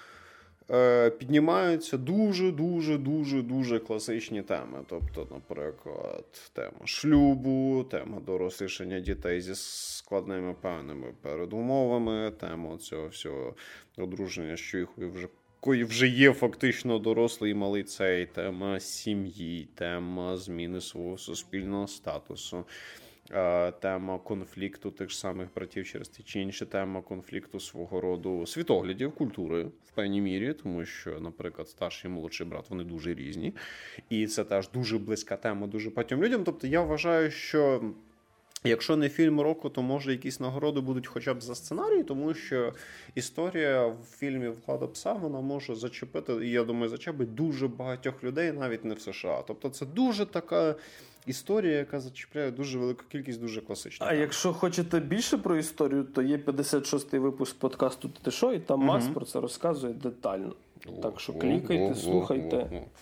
е, піднімаються дуже-дуже-дуже-дуже класичні теми. Тобто, наприклад, тема шлюбу, тема дорослішання дітей зі складними певними передумовами, тема цього всього одруження, що їх вже кої вже є фактично дорослий і малий цей, тема сім'ї, тема зміни свого суспільного статусу, тема конфлікту тих ж самих братів через ті чи інші, тема конфлікту свого роду світоглядів, культури в певній мірі, тому що, наприклад, старший і молодший брат, вони дуже різні. І це теж дуже близька тема дуже багатьом людям. Тобто я вважаю, що якщо не фільм року, то може якісь нагороди будуть хоча б за сценарій, тому що історія в фільмі «Влада Пса», вона може зачепити, і я думаю, зачепить дуже багатьох людей, навіть не в США. Тобто це дуже така історія, яка зачіпляє дуже велику кількість дуже класичних. А якщо хочете більше про історію, то є п'ятдесят шостий випуск подкасту «Ти що?», і там Мас угу. про це розказує детально. О, так що клікайте, о, слухайте. О, о, о.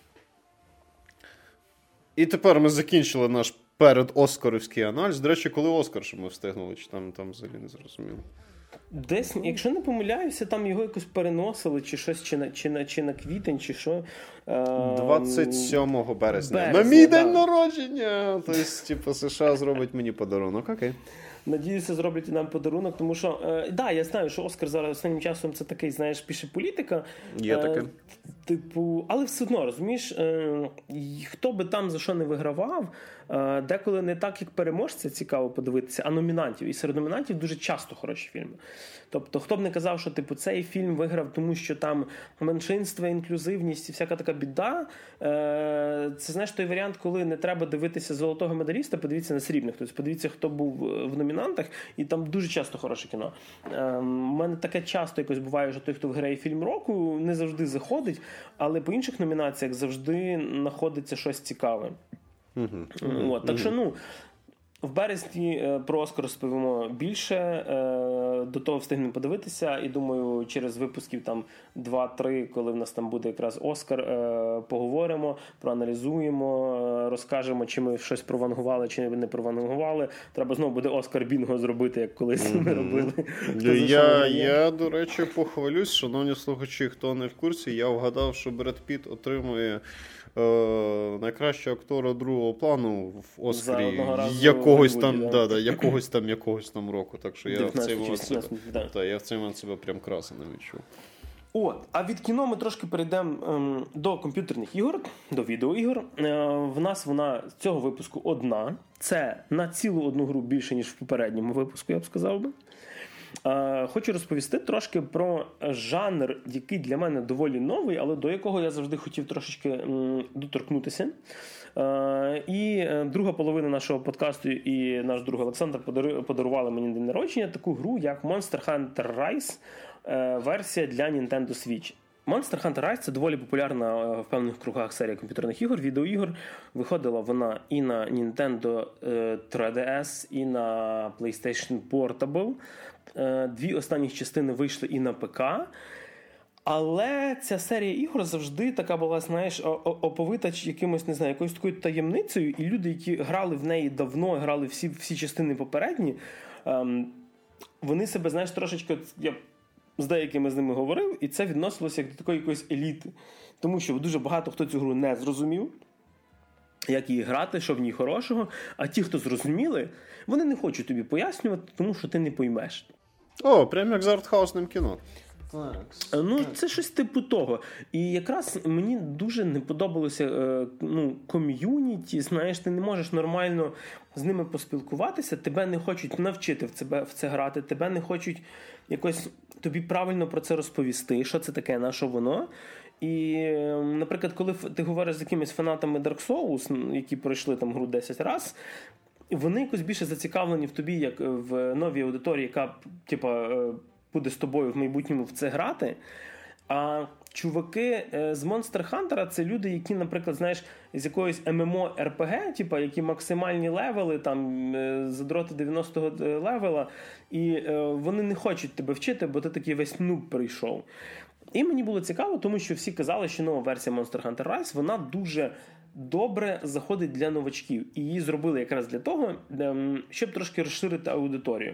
І тепер ми закінчили наш перед Оскарівський аналіз. До речі, коли Оскар, що ми встигнули, чи там, там взагалі не зрозуміло? Десь, якщо не помиляюся, там його якось переносили, чи щось, чи на, чи на, чи на квітень, чи що. двадцять сьомого березня. березня. На мій да. день народження! Тобто, типу, США зробить мені подарунок. Окей. Надіюся, зроблять і нам подарунок, тому що, е, да, я знаю, що Оскар зараз останнім часом це такий, знаєш, пише політика. Є таке. Е, типу, але все одно, розумієш, е, хто би там за що не вигравав, е, деколи не так, як переможця, цікаво подивитися, а номінантів. І серед номінантів дуже часто хороші фільми. Тобто, хто б не казав, що типу, цей фільм виграв, тому що там меншинство, інклюзивність і всяка така біда. Е, це, знаєш, той варіант, коли не треба дивитися золотого медаліста, подивіться на срібних. Тобто, подивіться, хто був в номінантах, і там дуже часто хороше кіно. У мене таке часто якось буває, що той, хто виграє фільм року, не завжди заходить, але по інших номінаціях завжди знаходиться щось цікаве. Uh-huh. От, так що, ну, в березні про Оскар розповімо більше, до того встигнемо подивитися, і думаю, через випусків там два-три, коли в нас там буде якраз Оскар, поговоримо, проаналізуємо, розкажемо, чи ми щось провангували, чи не провангували. Треба знову буде Оскар-бінго зробити, як колись mm-hmm. ми робили. Я, я, до речі, похвалюсь, шановні слухачі, хто не в курсі, я вгадав, що Бред Піт отримує Е, найкращого актора другого плану в Оскарі якогось там, да, да, да, якогось там, якогось там року. Так що я в цей момент себе, да. та, я в цей момент себе прям красиво відчув. От, а від кіно ми трошки перейдемо ем, до комп'ютерних ігор, до відеоігор. Е, в нас вона з цього випуску одна. Це на цілу одну гру більше, ніж в попередньому випуску, я б сказав би. Е, хочу розповісти трошки про жанр, який для мене доволі новий, але до якого я завжди хотів трошечки м, доторкнутися. Е, і друга половина нашого подкасту і наш друг Олександр подарували мені день народження таку гру, як Monster Hunter Rise, е, версія для Nintendo Switch. Monster Hunter Rise – це доволі популярна в певних кругах серія комп'ютерних ігор, відеоігор. Виходила вона і на Nintendo три ді ес, і на PlayStation Portable. Дві останніх частини вийшли і на ПК. Але ця серія ігор завжди така була, знаєш, оповита якимось, не знаю, якоюсь такою таємницею. І люди, які грали в неї давно, грали всі, всі частини попередні, вони себе, знаєш, трошечки... Я з деякими з ними говорив, і це відносилося як до такої якоїсь еліти. Тому що дуже багато хто цю гру не зрозумів, як її грати, що в ній хорошого. А ті, хто зрозуміли, вони не хочуть тобі пояснювати, тому що ти не поймеш. О, прямо як з артхаусним кіно. Ну, це щось типу того. І якраз мені дуже не подобалося ну, ком'юніті, знаєш, ти не можеш нормально з ними поспілкуватися, тебе не хочуть навчити в це, в це грати, тебе не хочуть якось тобі правильно про це розповісти, що це таке, на що воно. І, наприклад, коли ти говориш з якимись фанатами Dark Souls, які пройшли там гру десять разів, вони якось більше зацікавлені в тобі, як в новій аудиторії, яка, типа, буде з тобою в майбутньому в це грати. А чуваки з Monster Hunter — це люди, які, наприклад, знаєш, з якоїсь ем ем о ар пі гі, типу, які максимальні левели, там, задроти дев'яностого левела, і вони не хочуть тебе вчити, бо ти такий весь нуб прийшов. І мені було цікаво, тому що всі казали, що нова версія Monster Hunter Rise, вона дуже добре заходить для новачків. І її зробили якраз для того, щоб трошки розширити аудиторію.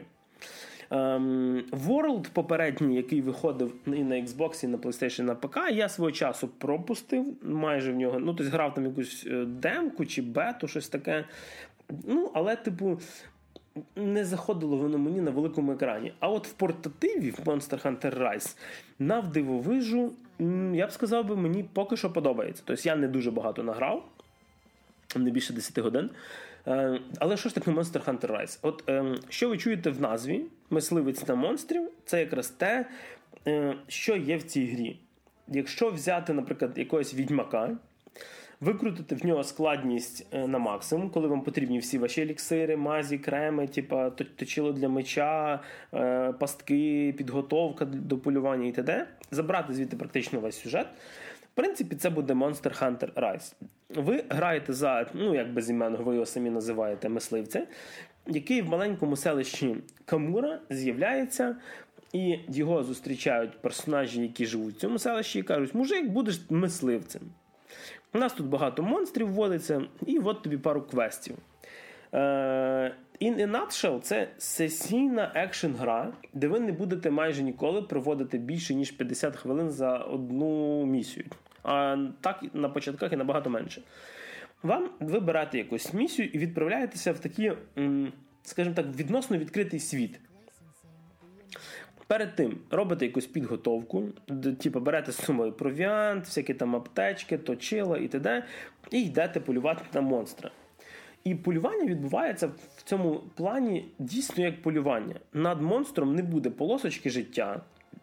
World попередній, який виходив і на Xbox, і на PlayStation, і на ПК, я свого часу пропустив майже в нього. Ну, тобто грав там якусь демку чи бету, щось таке. Ну, але, типу, не заходило воно мені на великому екрані. А от в портативі, в Monster Hunter Rise, навдивовижу, я б сказав би, мені поки що подобається. Тобто я не дуже багато награв, не більше десять годин. Але що ж таке Monster Hunter Rise? От що ви чуєте в назві «Мисливець на монстрів» – це якраз те, що є в цій грі. Якщо взяти, наприклад, якогось відьмака, викрутити в нього складність на максимум, коли вам потрібні всі ваші еліксири, мазі, креми, типа точило для меча, пастки, підготовка до полювання і т.д., забрати звідти практично весь сюжет, в принципі, це буде Monster Hunter Rise. Ви граєте за, ну, як безіменного, ви його самі називаєте, мисливця, який в маленькому селищі Камура з'являється, і його зустрічають персонажі, які живуть в цьому селищі, і кажуть: мужик, будеш мисливцем. У нас тут багато монстрів вводиться, і от тобі пару квестів. In a nutshell, це сесійна екшн-гра, де ви не будете майже ніколи проводити більше, ніж п'ятдесят хвилин за одну місію. А так на початках і набагато менше. Вам ви берете якусь місію і відправляєтеся в такий, скажімо так, відносно відкритий світ. Перед тим робите якусь підготовку, типу берете з собою провіант, всякі там аптечки, точила і т.д. і йдете полювати на монстра. І полювання відбувається в цьому плані дійсно як полювання. Над монстром не буде полосочки життя.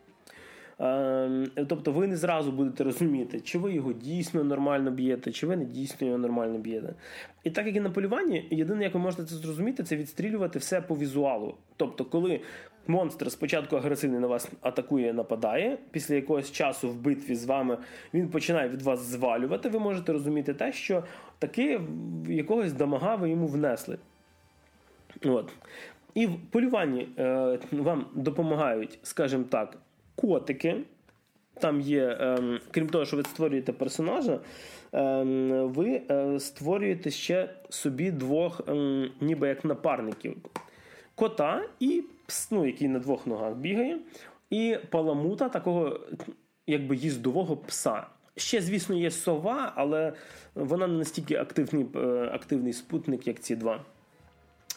Тобто ви не зразу будете розуміти, чи ви його дійсно нормально б'єте, чи ви не дійсно його нормально б'єте. І так як і на полюванні, єдине, як ви можете це зрозуміти, це відстрілювати все по візуалу. Тобто, коли монстр спочатку агресивний на вас атакує, нападає, після якогось часу в битві з вами він починає від вас звалювати, ви можете розуміти те, що таки якогось дамага ви йому внесли. От. І в полюванні е, вам допомагають, скажімо так, котики. Там є, е, крім того, що ви створюєте персонажа, е, ви е, створюєте ще собі двох, е, ніби як напарників. Кота, і пс, ну, який на двох ногах бігає, і паламута, такого якби їздового пса. Ще, звісно, є сова, але вона не настільки активний, активний спутник, як ці два.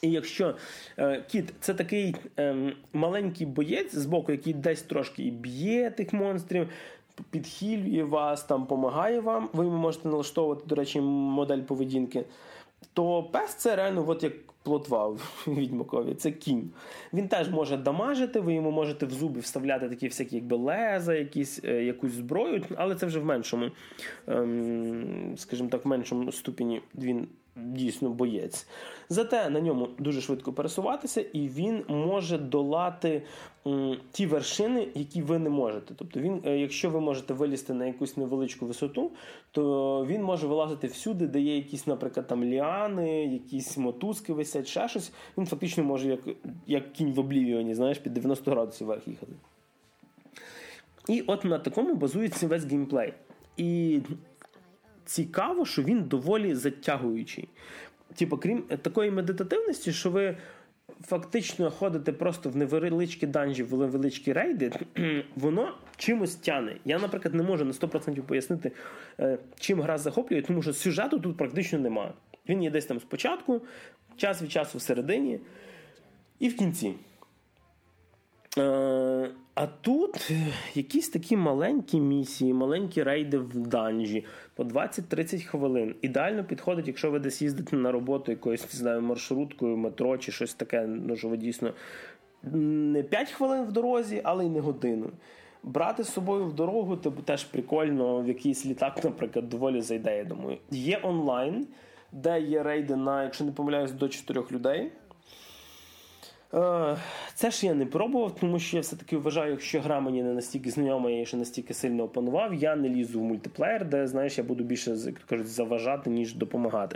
І якщо е, кіт – це такий е, маленький боєць збоку, який десь трошки і б'є тих монстрів, підхилює вас, там, допомагає вам, ви йому можете налаштовувати, до речі, модель поведінки, то пес – це реально от як плотва в Відьмакові, це кінь. Він теж може дамажити, ви йому можете в зуби вставляти такі всякі якби леза, якісь, е, якусь зброю, але це вже в меншому, е, скажімо так, в меншому ступені він дійсно боєць. Зате на ньому дуже швидко пересуватися, і він може долати м, ті вершини, які ви не можете. Тобто він, якщо ви можете вилізти на якусь невеличку висоту, то він може вилазити всюди, де є якісь, наприклад, там ліани, якісь мотузки висять, ще щось. Він фактично може, як, як кінь в Облівіоні, знаєш, під дев'яносто градусів вверх їхати. І от на такому базується весь геймплей. І цікаво, що він доволі затягуючий. Типу, крім такої медитативності, що ви фактично ходите просто в невеличкі данжі, в невеличкі рейди, воно чимось тяне. Я, наприклад, не можу на сто відсотків пояснити, чим гра захоплює, тому що сюжету тут практично немає. Він є десь там спочатку, час від часу всередині і в кінці. А тут якісь такі маленькі місії, маленькі рейди в данжі по двадцять-тридцять хвилин. Ідеально підходить, якщо ви десь їздите на роботу якоюсь, не знаю, маршруткою, метро чи щось таке, ну, що ви дійсно не п'ять хвилин в дорозі, але й не годину. Брати з собою в дорогу, то теж прикольно, в якийсь літак, наприклад, доволі зайде, я думаю. Є онлайн, де є рейди на, якщо не помиляюсь, до чотирьох людей. Це ж я не пробував, тому що я все-таки вважаю, якщо гра мені не настільки знайома, я її ще настільки сильно опанував, я не лізу в мультиплеєр, де, знаєш, я буду більше, як кажуть, заважати, ніж допомагати.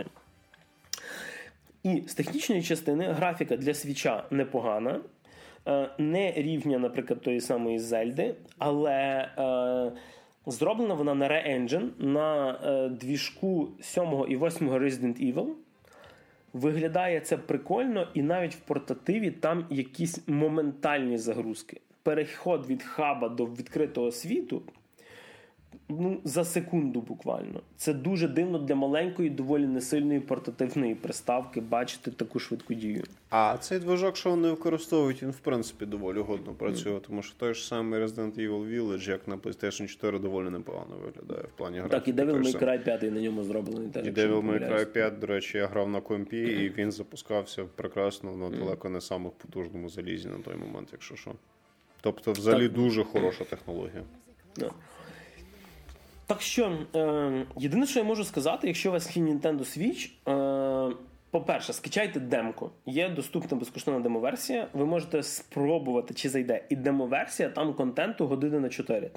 І з технічної частини графіка для свіча непогана, не рівня, наприклад, тої самої Зельди, але е, зроблена вона на Re-Engine, на е, двіжку сьомого і восьмого Resident Evil. Виглядає це прикольно, і навіть в портативі там якісь моментальні загрузки. Переход від хаба до відкритого світу, ну, за секунду буквально. Це дуже дивно для маленької, доволі несильної портативної приставки бачити таку швидку дію. А цей движок, що вони використовують, він в принципі доволі годно працює, mm. тому що той ж самий Resident Evil Village, як на PlayStation чотири, доволі непогано виглядає в плані графіки. Так, і Devil May Cry п'ять на ньому зроблений. Теж, і Devil May Cry п'ять, до речі, я грав на компі, mm-hmm. і він запускався прекрасно, але mm-hmm. далеко не самих потужному залізі на той момент, якщо що. Тобто, взагалі, так. дуже хороша технологія. Yeah. Так що, е, єдине, що я можу сказати, якщо у вас є Nintendo Switch, е, по-перше, скачайте демку. Є доступна безкоштовна демоверсія, ви можете спробувати, чи зайде. І демоверсія, там контенту години на чотири.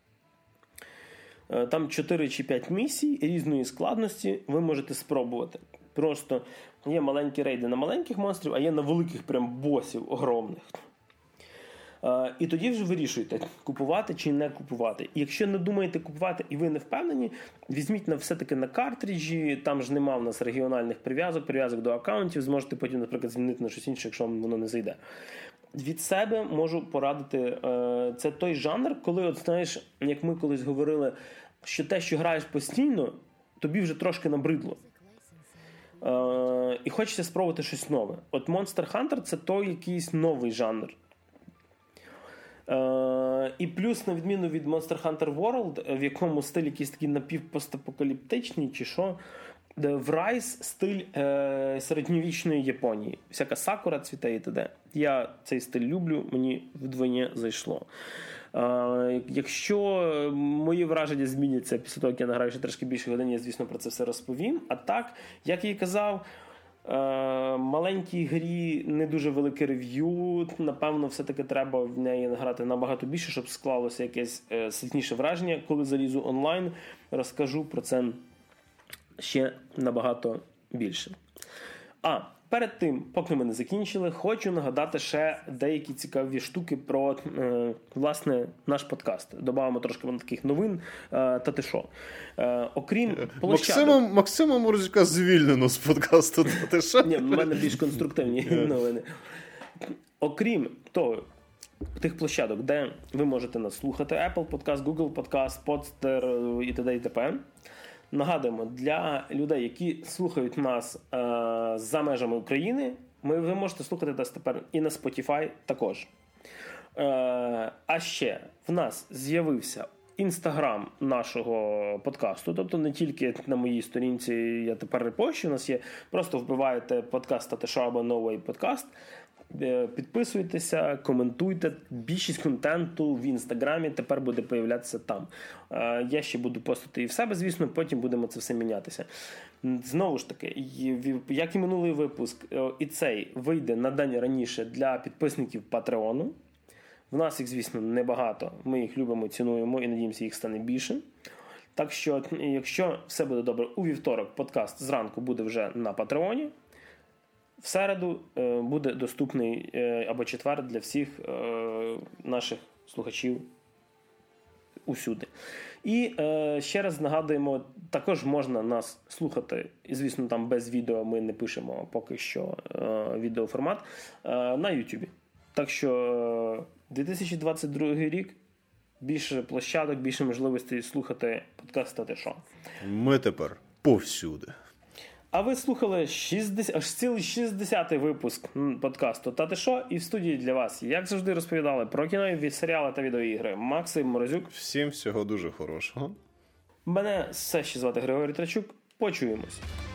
Е, там чотири чи п'ять місій різної складності ви можете спробувати. Просто є маленькі рейди на маленьких монстрів, а є на великих прям босів огромних. Uh, і тоді вже вирішуйте, купувати чи не купувати. І якщо не думаєте купувати і ви не впевнені, візьміть на все-таки на картриджі, там ж нема в нас регіональних прив'язок, прив'язок до аккаунтів, зможете потім, наприклад, змінити на щось інше, якщо вам воно не зайде. Від себе можу порадити, uh, це той жанр, коли, от знаєш, як ми колись говорили, що те, що граєш постійно, тобі вже трошки набридло. Uh, і хочеться спробувати щось нове. От Monster Hunter – це той якийсь новий жанр. Uh, і плюс, на відміну від Monster Hunter World, в якому стиль якийсь такий напівпостапокаліптичний, чи що, в Rise стиль е, середньовічної Японії. Всяка сакура цвіте і т.д. Я цей стиль люблю, мені вдвоє зайшло. Uh, якщо мої враження зміняться після того, як я награю ще трошки більше годин, я, звісно, про це все розповім. А так, як я і казав, Uh, маленькій грі не дуже велике рев'ю, напевно, все-таки треба в неї награти набагато більше, щоб склалося якесь е, сильніше враження. Коли залізу онлайн, розкажу про це ще набагато більше. А, перед тим, поки ми не закінчили, хочу нагадати ще деякі цікаві штуки про, е, власне, наш подкаст. Добавимо трошки таких новин, е, та ти що. Е, окрім площадок... Максима, Максима Морозюка звільнено з подкасту, та ти що? Ні, в мене більш конструктивні новини. Окрім того, тих площадок, де ви можете нас слухати, Apple Podcast, Google Podcast, Podster і т.д. і т.п. Нагадуємо, для людей, які слухають нас е, за межами України, Ми, ви можете слухати нас тепер і на Spotify також. Е, а ще в нас з'явився Інстаграм нашого подкасту, тобто не тільки на моїй сторінці я тепер репощу, у нас є, просто вбиваєте подкаст «Татешо» або «No Way Podcast», підписуйтеся, коментуйте, більшість контенту в Інстаграмі тепер буде появлятися там. Я ще буду постити і в себе, звісно, потім будемо це все мінятися. Знову ж таки, як і минулий випуск, і цей вийде на день раніше для підписників Патреону. В нас їх, звісно, небагато. Ми їх любимо, цінуємо і надіємося, їх стане більше. Так що, якщо все буде добре, у вівторок подкаст зранку буде вже на Патреоні. В середу е, буде доступний е, або четвер для всіх е, наших слухачів усюди. І е, ще раз нагадуємо, також можна нас слухати, і, звісно, там без відео ми не пишемо поки що е, відеоформат, е, на Ютубі. Так що дві тисячі двадцять другий рік, більше площадок, більше можливостей слухати подкаст «Татешо». Ми тепер повсюди. А ви слухали шістдесят, аж цілий шістдесятий випуск подкасту «Татешо», і в студії для вас, як завжди, розповідали про кіно, серіали та відеоігри Максим Морозюк. Всім всього дуже хорошого. Мене все ще звати Григорій Трачук. Почуємось.